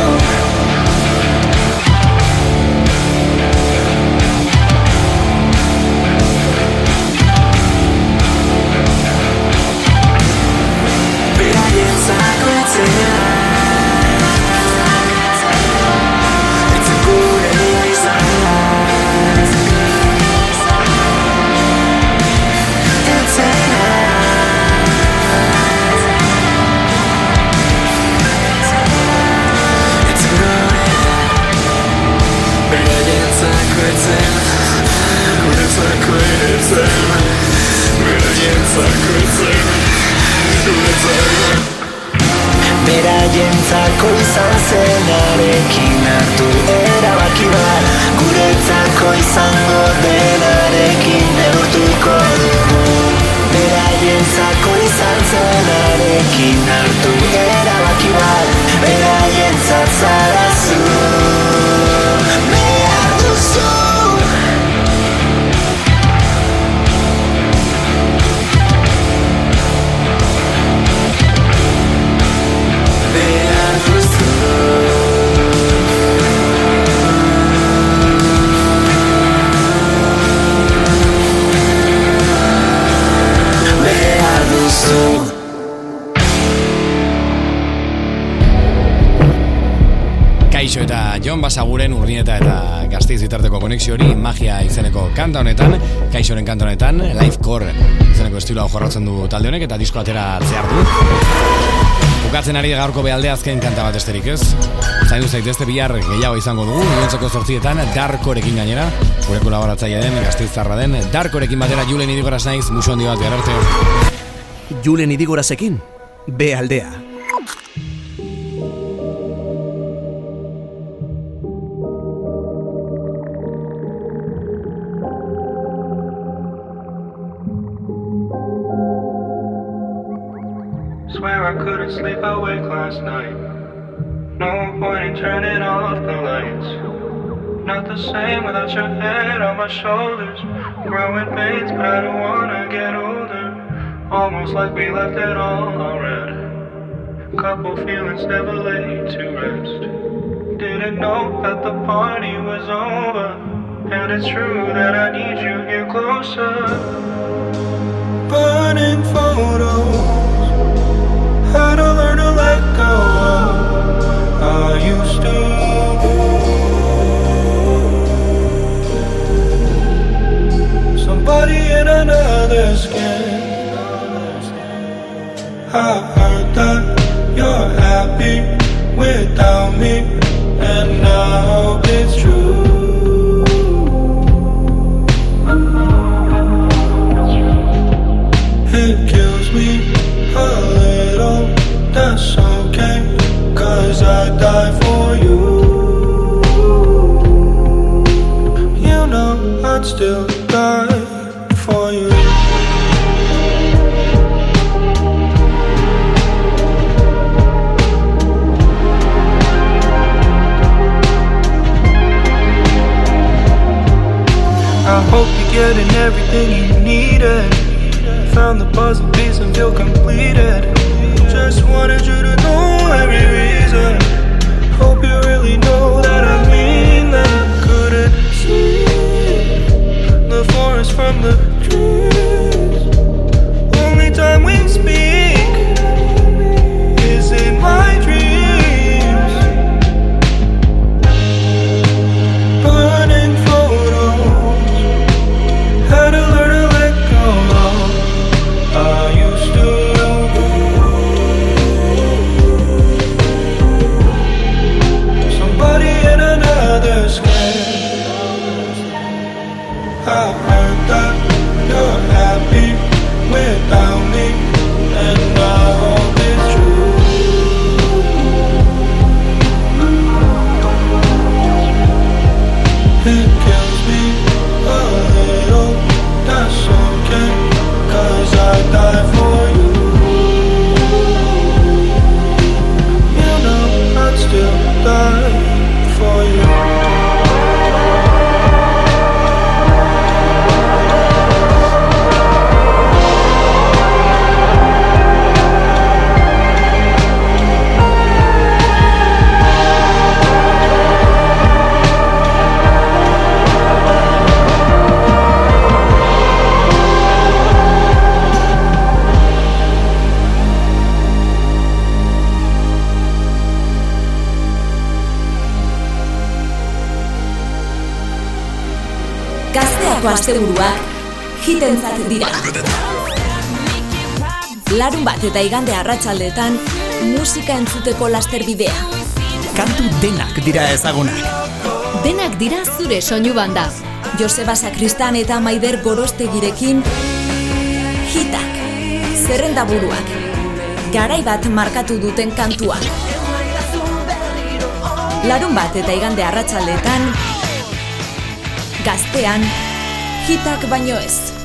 Beraientzako izan zenarekin hartu erabaki bat, guretzako izango denarekin neurtuko dugu. Beraientzako izan zenarekin hartu erabaki bat, beraientzat zara zu, behar duzu. Kaixo eta Jon Basaguren Urnieta eta Gasteiz bitarteko konexio hori magia izeneko kanta honetan, Kaixoren kanta honetan, Lifecore izeneko estiloa jorratzen du talde honek eta disko atera zehar du. Bukatzen ari gaurko behalde azken kanta bat esterik ez. Zaindu zaitezte bihar gehiago izango dugu, iluntzeko zortzietan Darkorekin gainera, gure kolaboratzaile den, Gasteiztarra den, Darkorekin batera Julen Idigoraz naiz, musu handi bat behar arte. Julen Idigorazekin, bealdea. Swear I couldn't sleep awake last night. No point in turning off the lights. Not the same without your head on my shoulders. Growing pains, but I don't wanna get older. Almost like we left it all already. Couple feelings never laid to rest. Didn't know that the party was over. And it's true that I need you here closer. Burning photos. Had to learn to let go of. I used to. I heard that you're happy without me, and I hope it's true. It kills me a little, that's okay, 'cause I die for you. You know I'd still die for you. I hope you're getting everything you needed. Found the puzzle piece and feel completed. Just wanted you to know every reason. Hope you really know that I mean that. I couldn't see the forest from the trees. Only time we speak is in my dreams. Burning photos, had to learn to let go. I used to somebody in another skin. I heard that you're happy without me, and I hope it's true. It kills me a little, that's okay, 'cause I die for you. You know I'd still die for you. Gazteako asteburuak hitentzat dira. Larun bat eta igande arratsaldetan musika entzuteko lasterbidea. Kantu denak dira ezagunak. Denak dira zure soinu banda. Joseba Sakristan eta Maider Gorostegirekin hitak, zerrendaburuak, garai bat markatu duten kantuak. Larun bat eta igande arratsaldetan Gaztean hitak baino ez.